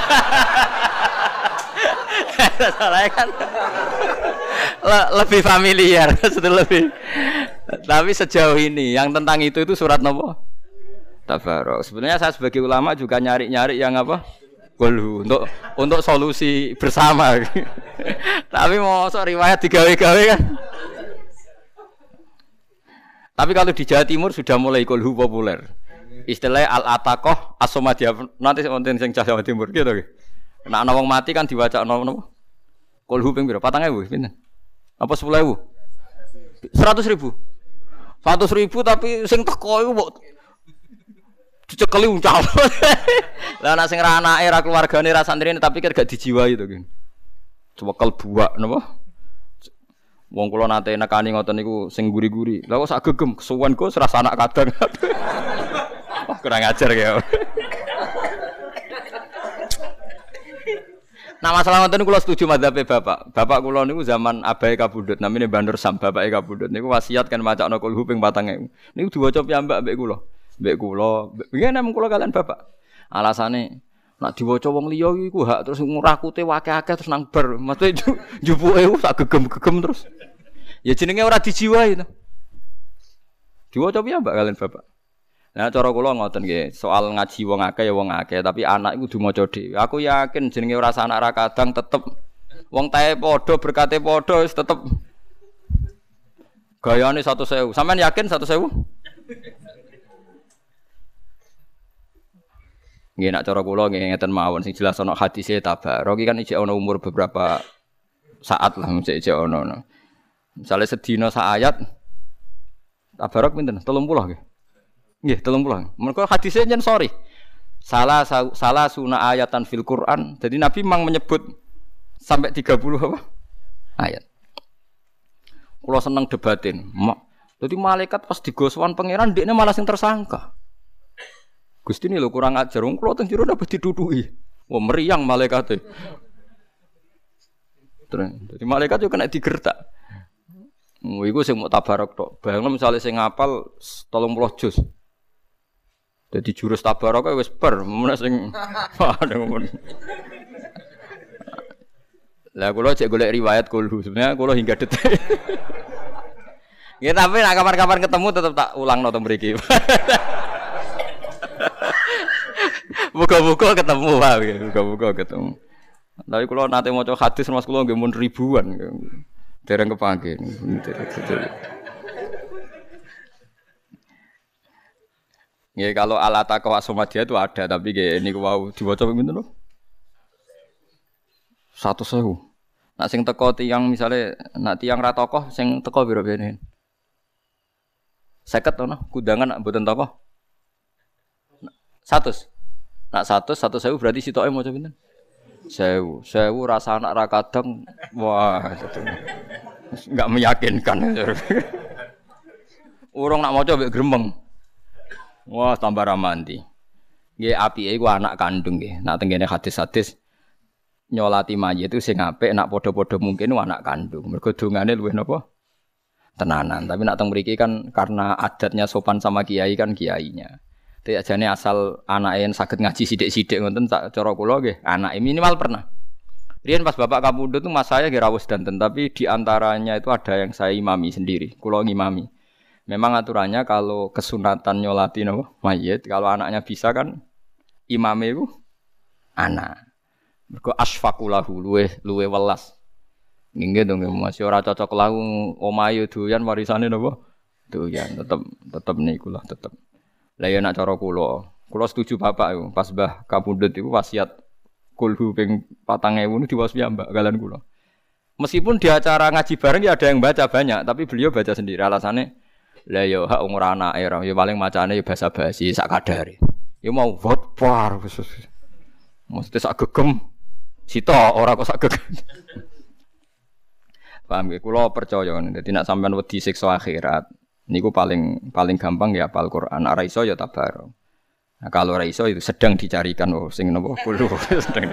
Soalnya kan le lebih familiar, lebih. Tapi sejauh ini yang tentang itu itu surat napa? Tabarok. Sebenarnya saya sebagai ulama juga nyari-nyari yang apa? Kulhu untuk untuk solusi bersama. Tapi mau so riwayat digawe-gawe kan. Tapi kalau di Jawa Timur sudah mulai kulhu populer. Istilahnya al-ataqah as-somadiyah. Nanti wonten sing Jawa Timur gitu nggih. Nek ana wong mati kan diwacakno napa? Kulhu ping pira? patang ewu pinten? Apa sepuluh ewu? seratus ribu. seratus ribu tapi sing teko iku mbok dicekeli uncal. Lah nek sing ra anake ra keluargane ra santrine tapi kan gak dijiwai to, Kin. Cewekel buak napa? Wong kula nate nekani ngoten niku sing guri-guri. Lah kok sak gegem kesuwen kok serasa anak kadang. Wah, kurang ajar ya. Nah masalah ngoten kula setuju madzhabe Bapak. Bapak kula niku zaman abahe kabudut namine Bandur Sam, bapake kabudut niku wasiat kan macakno kulhu ping patang ewu. Niku diwaca piyambak mbek kula. Mbek kula, nggih nek kula kalian Bapak. Alasane nak diwaca wong liya iku hak terus ngurakute akeh-akeh terus nang bar. Maksudnya jupuke sak gegem-gegem terus. Ya jenenge ora dijiwai to. Diwaca piyambak kalian Bapak. Nah cara kula ngoten nggih, soal ngaji wong akeh ya wong akeh, tapi anak iku kudu maca dhewe. Aku yakin jenenge ora anak ra kadang tetep wong tae padha berkate padha wis tetep gayane seratus ribu. Sampeyan yakin seratus ribu? Nggih nak cara kula nggih ngeten mawon sing jelas ana hadise tabarok iki kan ijek ana umur beberapa saat lah ijek ijek ana. Misale sedina sak ayat tabarok pinten? tiga puluh nggih. Nggih, tiga puluh. Mergo hadise nyen sorry. Salah salah sunah ayatan fil Quran. Jadi Nabi memang menyebut sampai tiga puluh apa? Ayat. Kula seneng debatin. Jadi malaikat pas digoswan pangeran dekne malah sing tersangka. Gusti ini lho kurang ajar, wong kula teng jero dapat diduduki. Wah meriang malaikate. Terus, jadi malaikat yo kena digertak. Oh iku sing mau tabarok tok. Bayangno misale sing ngapal tiga puluh juz. Dadi jurus tabarok wis ber, mun sing padha ngono. Lah kula cek golek riwayat kulhu, sebenarnya kula hingga detik. Ya tapi nak kapan-kapan ketemu tetep tak ulangno to mriki. Buka-buka ketemu wae, buka-buka ketemu. Tapi kula nate maca hadis Mas kula nggih mun ribuan. Dereng kepanggih. Ya kalau alata kawasomadia itu ada tapi nggih niku wau diwaca pinten lho? seratus ribu. Nak sing teko tiyang misale nak tiyang ra tokoh sing teko piro bene? seket to no, kudangan nak mboten tokoh. seratus. Nak seratus, seratus ribu berarti sitoke maca pinten? seribu. seribu rasa anak ra kadang wah itu. Enggak meyakinkan. Urung nak maca mbek gremeng. Wah tambah ramanti. Nggih apike iku anak kandung nggih. Nak tengene hadis-hadis nyolati mayit itu sing apik nak padha-padha mungkin anak kandung. Mergo dongane luwih napa? Tenanan. Tapi nak teng mriki kan karena adatnya sopan sama kiai kan kiainya. Dadi ajane asal anake saged ngaji sithik-sithik ngoten tak cara kula nggih, anake minimal pernah. Riyen pas bapak kapundhut itu mas saya nggih rawuh danten, tapi di antaranya itu ada yang saya imami sendiri, kula ngimami. Memang aturannya kalau kesunatan nyolati napa mayit, kalau anaknya bisa kan imame iku anak. Mergo asfaqulahu luwe luwe welas. Nggih dong masih ora cocok lahu omahe doyan warisane napa? Doyan tetep tetep niku lah tetep. Lah ya nak cara kula, kula setuju bapak iku pas Mbah kapundhut iku wasiat kulhu ping patang ewu niku diwaos piyambak kalian kula. Meskipun di acara ngaji bareng ya ada yang baca banyak, tapi beliau baca sendiri alasannya lah ya hak umur anake ora ya paling macane ya basa-basi sak kadare. Ya mau vot par khusus. Mesti sak gegem sita ora kok sak gegem. Paham nggih kula percaya ngene. Dadi nek sampean wedi siksa akhirat niku paling paling gampang ya hafal Quran. Nek ora iso ya tabarok. Nah, kalau ora iso itu sedang dicarikan oh sing napa kulo sedang.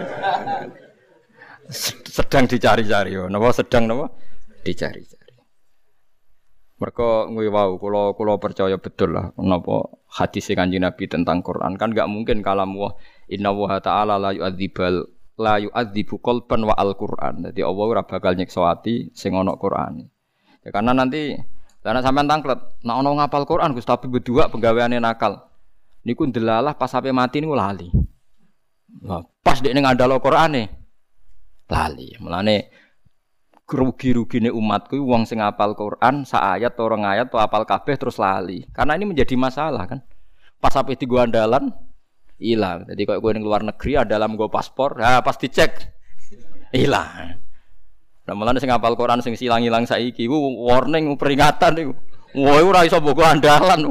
Sedang dicari-cari yo. Napa sedang napa? Dicari-cari. Mergo kuwi wau kula kula percaya betul lah napa hadis Kanjeng Nabi tentang Quran kan enggak mungkin kalam wa inna wa ta'ala la yu'adzibal la yu'adzibu qalban wa al-Qur'an. Dadi Allah ora bakal nyiksa ati sing ana Qur'ane. Ya karena nanti karena sampean tangklet, nek ana ngapal Quran Gus tapi berdua penggaweane nakal. Niku ndelalah pas sampe mati niku lali. Nah, pas dekne ngandalo Qur'ane lali. Mulane rugi-rugine umatku wong sing hafal Quran sak ayat atau rong ayat atau hafal kabeh terus lali. Karena ini menjadi masalah kan. Pas sampe digo andalan hilang. Jadi kalau kowe ning luar negeri andalan nggo paspor, ha pas dicek hilang. Nah, mulane sing hafal Quran sing silang-ilang saiki iku warning peringatan iku. Wah, ora iso mbok andalan.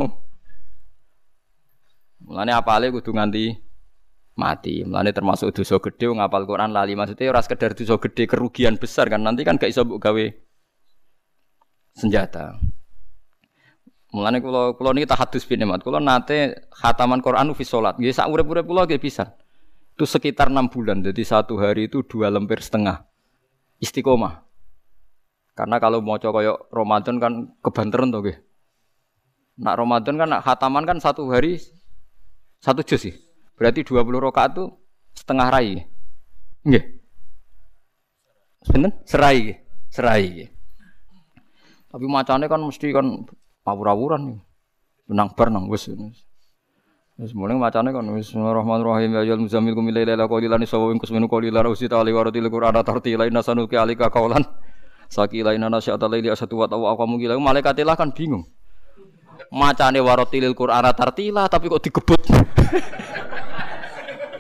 Mulane apale kudu nganti mati. Mulane termasuk dosa gedhe wong ngapal Quran lali maksudnya ora sekedar dosa gedhe kerugian besar kan nanti kan gak iso mbok gawe senjata. Mulane kula kula niki tahadus bin nikmat. Kula nate khataman Quran fi salat. Nggih sak urip-urip kula nggih pisan. Itu sekitar enam bulan. Jadi satu hari itu dua lembar setengah. Istiqomah. Karena kalau maca kaya Ramadan kan kebanteran to nggih. Nak Ramadan kan nak khataman kan satu hari satu juz sih. Berarti dua puluh rakaat itu setengah rai. Nggih. Sinten? Serai. Serai. Tapi macane kan mesti kan awur-awuran. Menang bar nang wis. Wis mulai macane kan bismillahirrahmanirrahim ya ayyuhal muzammil qum laila qalilan nisawin kusminu qalilan usita ali waratil qur'ana tartila inna sanuki alika qaulan sakila inna nasyata laili asatu wa tawa aqamu gila malaikatilah kan bingung. Macane waratil qur'ana tartila tapi kok digebut.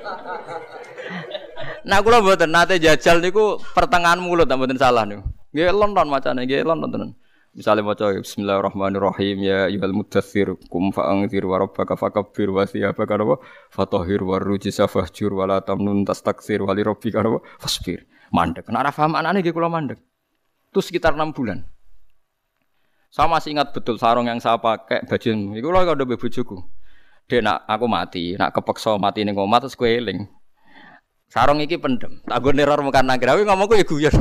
Nah kula mboten nate jajal niku pertengahan mulut mboten salah niku. Nggih lonton macane nggih lonton tenan. Misale maca bismillahirrahmanirrahim ya ayyuhal mudaththir kum fa'anzir wa rabbaka fakabbir wa thiyabaka fatahhir warujza fahjur wa la tamnun tastakthir wa li rabbika fasbir. Mandek. Nek ora paham anane nggih kula mandek. Itu sekitar enam bulan. Saya masih ingat betul sarung yang saya pakai baju iku lho karo bojoku. Dek nak aku mati, nak kepeksa mati ning omah terus kowe eling. Sarung iki pendem. Tak nggo neror mekan nang grawe ngomongku ya guyon.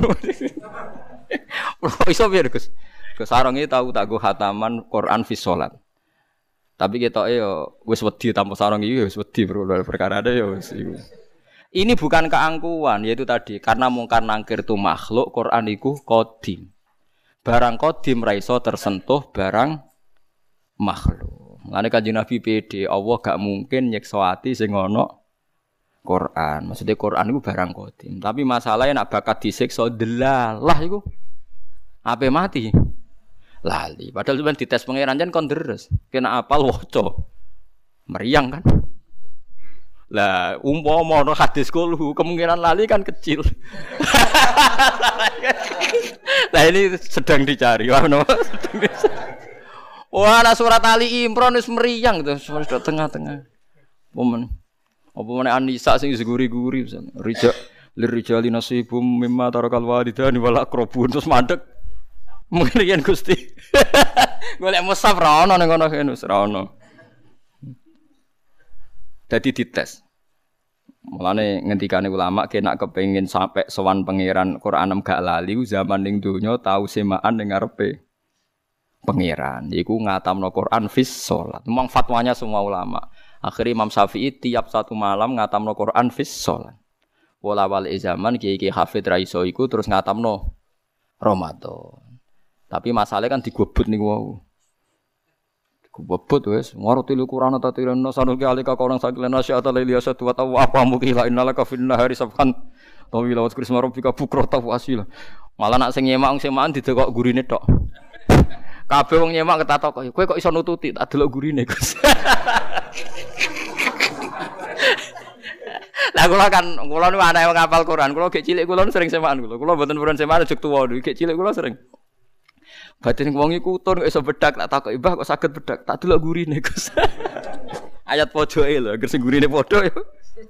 Iso piye Gus? Ke sarung iki tau tak nggo khataman Quran fi shalat. Tapi ketoke yo wis wedi tanpa sarung iki wis wedi perkara ada yo wis iku. Ini bukan keangkuhan, yaitu tadi karena mungkar nangkir itu makhluk, Quran iku qadim. Barang qadim ra iso tersentuh barang makhluk. Mulane Kanjeng Nabi pede, Allah gak mungkin nyiksa ati sing ana Quran. Maksudnya Quran iku barang qadim. Tapi masalahnya nek bakat disiksa delalah iku ape mati. Lali. Padahal sampeyan dites pangeran jan kon deres. Kena apal waca. Meriang kan? Lah, umpama ana hadis kulhu, kemungkinan lali kan kecil. Lah ini sedang dicari. Wah, no. Wah, ana surat Ali Imran wis meriang gitu, sudah tengah-tengah. Momen. Apa meneh An-Nisa sing guri-guri pisan. Rija lirijali nasibum mimma tarakal walidani wal aqrabun terus mandek. Mungkin yen Gusti. Golek musaf ra ono ning ngono kene wis ra ono. Dadi dites. Mulane ngendikane ulama kena kepengin sampai sowan pangeran Qur'anem gak lali zaman ning donya tau semaan ning ngarepe pangeran. Iku ngatamno Qur'an fis shalat. Memang fatwanya semua ulama. Akhirnya Imam Syafi'i tiap satu malam ngatamno Qur'an fis shalat. Wala wal zaman kiai-kiai hafid ra iso iku terus ngatamno Ramadan. Tapi masalahnya kan digobot niku wau. Kubebut wis ngerti lu Quran ta tirana sanuki alika kaurang sakilana syata laili asatu wa tawa apa mukila innalaka fin nahari sabhan tawila wa krisma rabbika bukrata wa asila. Malah nak sing nyemak sing maan didekok gurine tok. Kabeh wong nyemak ketatok kowe kok iso nututi tak delok gurine Gus. Lah kula kan kula niku ana wong hafal Quran, kula gek cilik kula sering semaan kula. Kula mboten purun semaan jek tuwa niku gek cilik kula sering. Batin wong iku utun kok iso bedak tak takoki, "Mbah kok saged bedak?" Tak delok gurine, Gus. Ayat pojoke lho, agar sing gurine padha ya.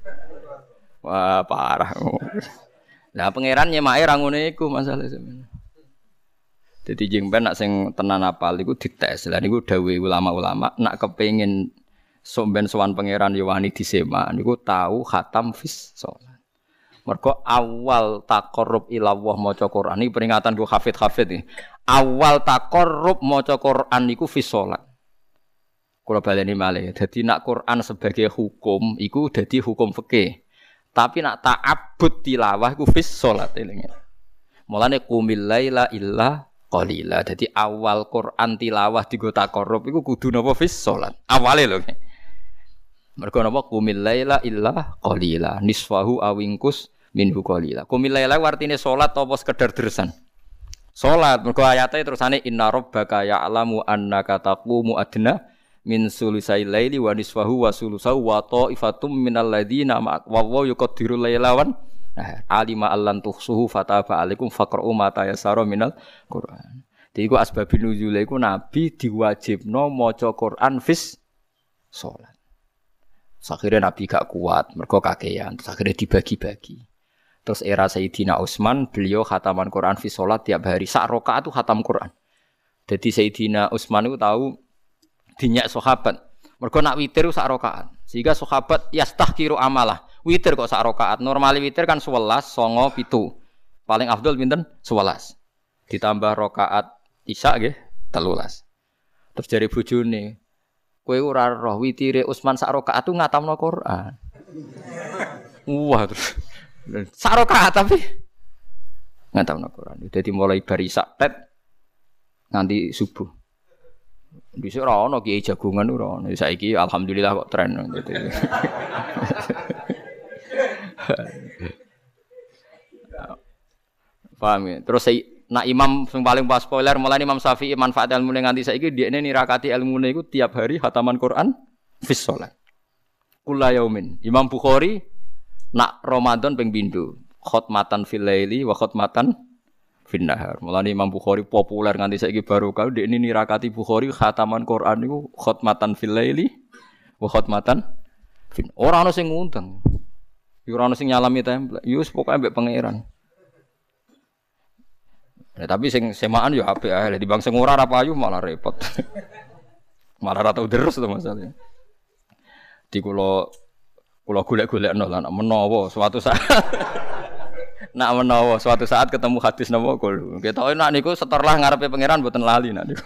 Wah, parah. Lah pangeran nyemake ra ngene iku masalah sampeyan. Dadi jengben nak sing tenan apal iku dites. Lah niku dawuhe ulama-ulama, nak kepengin somben sowan pangeran ya wani disema niku tau khatam fis shalat. Mergo awal taqarrub ila Allah maca Quran iki peringatan ku hafid-hafid iki. Awal taqarrub maca Quran niku fi shalat. Kula baleni malih. Dadi nak Quran sebagai hukum iku dadi hukum fikih. Tapi nak ta'abbud tilawah iku fi shalat elinge. Mulane qumil laila illa qalila. Dadi awal Quran tilawah digo taqarrub iku kudu napa fi shalat. Awale lho. Mergo napa qumil laila illa qalila. Nisfahu awingkus minhu qalila. Qumil laila artine salat apa sekedar dersan. Salat mergo ayate terusane inna rabbaka ya'lamu annaka taqumu adna min sulusai laili wa nisfahu wa sulusahu wa ta'ifatum minal ladzina wa wa yuqaddiru lailawan nah alima allan tuhsuhu fataba alaikum faqra'u ma tayassara minal Qur'an. Dadi iku asbabun nuzul iku nabi diwajibno maca Qur'an fis salat. Akhirnya nabi gak kuat mergo kakean terus akhirnya dibagi-bagi. Terus era Sayyidina Utsman, beliau khataman Quran fi shalat tiap hari. Sak rakaat itu khatam Quran. Jadi Sayyidina Utsman itu tahu dinyak sahabat. Mergo nak witir sak rakaat. Sehingga sahabat yastahkiru amalah. Witir kok sak rakaat. Normali witir kan sewelas, songo, pitu. Paling afdal pinten? sewelas. Ditambah rakaat Isya nggih, telulas. Terus jare bojone, kowe ora roh witire Utsman sak rakaat itu ngatamno Quran. Wah, terus sak rakaat tapi ngatamno Quran. Dadi mulai bar Isya tet nganti subuh. Dhisik ora ono kiai jagongan ora ono. Saiki alhamdulillah kok tren gitu. Paham ya? Terus nak imam yang paling pas spoiler mulai Imam Syafi'i manfaat ilmu nganti saiki dekne nirakati ilmune iku tiap hari khataman Quran fis shalat. Kullu yaumin. Imam Bukhari Nak Ramadan ping pindho, khotmatan fil laili wa khotmatan fin nahar. Mulane Imam Bukhari populer nganti saiki barokah ndekne nirakati Bukhari khataman Quran niku khotmatan fil laili wa khotmatan fin. Ora ana sing ngundang. Yo ora ana sing nyalami template. Yo wis pokoke mbek pangeran. Ya, tapi sing semaan yo apik ae. Di bang sing ora ra payu malah repot. Malah ra tau deres to masalahnya. Di kula kula golek-golekno lah nek menawa suatu saat nak menawa suatu saat ketemu hadis napa kul. Ketoke nak niku setorlah ngarepe pangeran mboten lali nak niku.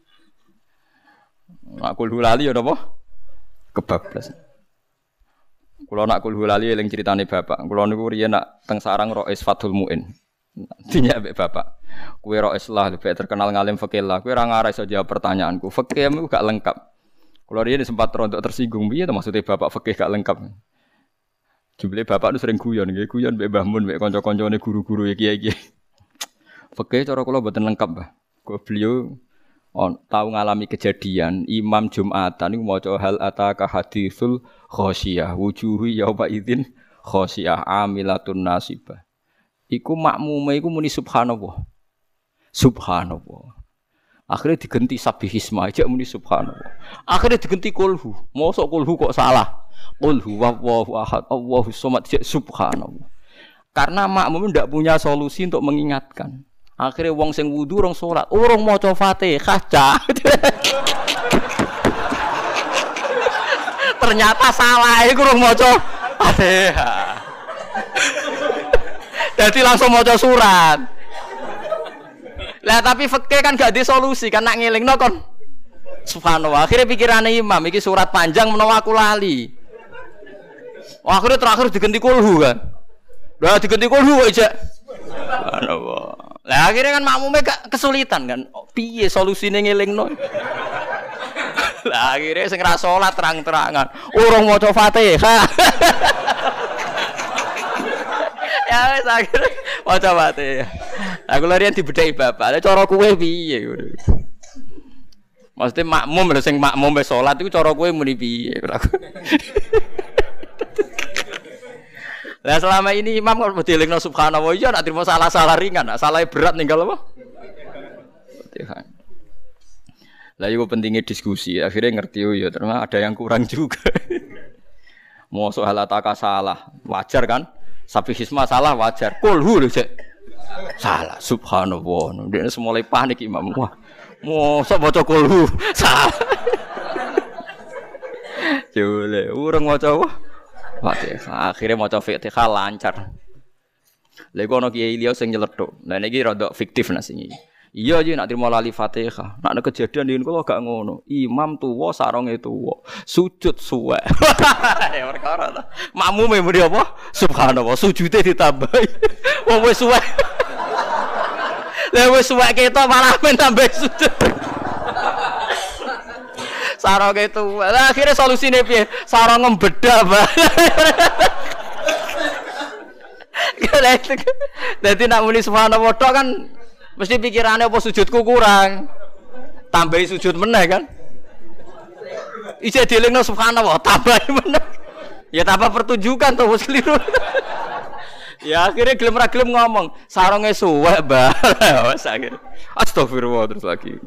Nak kul lali ya napa? Kebablas. Kula nak kul lali eling critane bapak. Kula niku riyen nak teng sarang Rois Fathul Muin. Dinya mbek bapak. Kowe Rois lah lebih terkenal ngalim fikih lah. Kowe ora ngarep iso jawab pertanyaanku. Fikih niku gak lengkap. Kula riyen sempat rontok tersinggung piye to maksudnya bapak fikih gak lengkap. Jebule bapak nu sering guyon nggih, guyon mbek Mbah Mun mbek kanca-kancane guru-guru iki-iki. Fikih cara kula mboten lengkap, Mbah. Kok beliau on tau ngalami kejadian imam Jumatan niku maca hal ataka haditsul khasyiyah wujuhi yauma idzin khasyiyah amilatun nasibah. Iku makmume iku muni subhanallah. Subhanallah. Akhirnya diganti sabihisma aja muni subhanallah. Akhirnya diganti kulhu. Mosok kulhu kok salah. Qul huwallahu ahad, Allahus samad, subhanallah. Karena makmum ndak punya solusi untuk mengingatkan. Akhirnya wong sing wudu rong salat, urung maca Fatihah. Ternyata salah iku urung maca Fatihah. Jadi langsung maca surat. Lah tapi fikih kan gak di solusi kan nak ngelingno kon. Subhanallah. Akhirnya pikirane imam iki surat panjang menawa aku lali. Oh, akhirnya terakhir diganti kulhu kan. Lah diganti kulhu aja. Subhanallah. Lah akhirnya kan makmume gak kesulitan kan. Oh, piye solusine ngelingno? Lah akhirnya sing ra salat terang-terangan, urung maca Fatihah. Ya wis akhirnya maca Fatihah. Aku larian dibedheki bapak. Lah cara kowe piye? Maksudnya makmum lho sing makmum wis salat iku cara kowe muni piye? Lah selama ini imam kok dielingno subhanallah ya nak trimo salah-salah ringan, nak salah berat ninggal apa? Fatihah. Lah iku pentingnya diskusi, akhirnya ngerti oh ya ternyata ada yang kurang juga. Mosok halataka salah, wajar kan? Sabihisma salah wajar. Kulhu lho cek. Salah subhanallah. Dia semulai panik imam. Wah. Mosok maca kulhu salah. Jole, urung maca apa? Fatihah. Akhirnya maca Fatihah lancar. Lha iku ana kiai liya sing nyeletuk. Lah niki rada fiktif nasi iki. Iya iki nak trimo lali Fatihah. Nak kejadian yen kula gak ngono. Imam tuwa saronge tuwa. Sujud suwek. Ya perkara ta. Makmume muni apa? Subhanallah, sujude ditambahi. Wong wis suwek. Lah wis suwek ketok malah men tambah sujud. Sarong itu, lah akhirnya solusinya piye? Sarong ngembedah, Mbak. Jadi nak muni subhanallah tok kan mesti pikirannya apa sujudku kurang. Tambahi sujud meneh kan? Ije dielingno subhanallah, tambahi meneh. Ya tambah pertunjukan tuh wis keliru. Ya akhirnya gelem ra gelem ngomong, sarunge suwek, Mbak. Wes akhir. Astagfirullah terus lagi.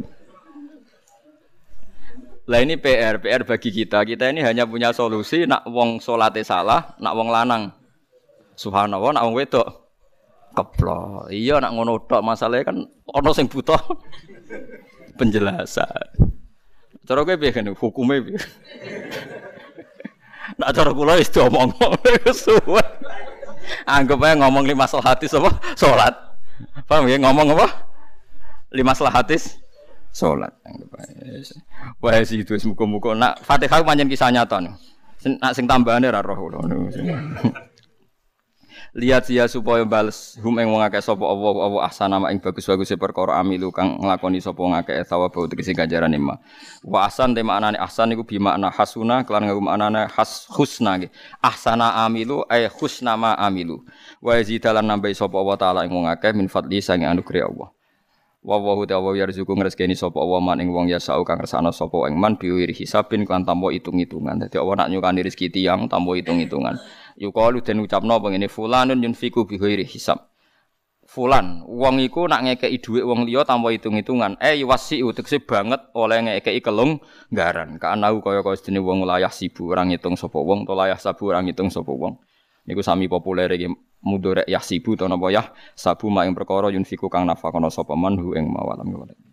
Lah ini P R, P R bagi kita. Kita ini hanya punya solusi nak wong salate salah, nak wong lanang subhanallah, nak wong wedok keplok. Iya nak ngono tok masalahnya kan ana sing butuh penjelasan. Cara kowe piye kan hukume piye? Nak cara kula wis diomong suwe. Anggap ae ngomong lima salahatis apa? Salat. Paham ya ngomong apa? Lima salahatis salat. Wah sih itu muga-muga nak Fatihah pancen kisah nyata nih. Nak sing tambahane ra roh kula. Lihat sia supaya bales hum ing wong akeh sapa Allah Allah ahsana ing bagus-baguse perkara amilu kang nglakoni sapa wong akeh thawab tegese ganjarane ma. Wa ahsan te maknane ahsan iku bi makna hasuna kelan nganggo maknane has husna nggih. Ahsana amilu ay husna ma amilu. Wa yazidalan nambahi sapa Allah taala ing wong akeh min fadli sange anugerah Allah. Wa wa ta'ala yarzuqu ngresgeni sapa Allah man ing wong yasau kang kersane sapa ing man biwiri hisabin kan tanpa hitung-hitungan. Dadi Allah nak nyukani rezeki tiyang tanpa hitung-hitungan. Yuqalu den ucapno pengene fulanun yunfiku bi ghairi hisab. Fulan, wong iku nak ngekeki dhuwit wong liya tanpa hitung-hitungan. Eh wasi utekse banget oleh ngekeki kelonggaran. Kaanau kaya-kaya sedene wong layah sibu orang ngitung sapa wong, to layah sabu orang ngitung sapa wong. Niku sami populer iki mudhorek yah sibu to napa yah sabu mak ing perkara yunfiku kang nafakono sapa man hu ing mawalam.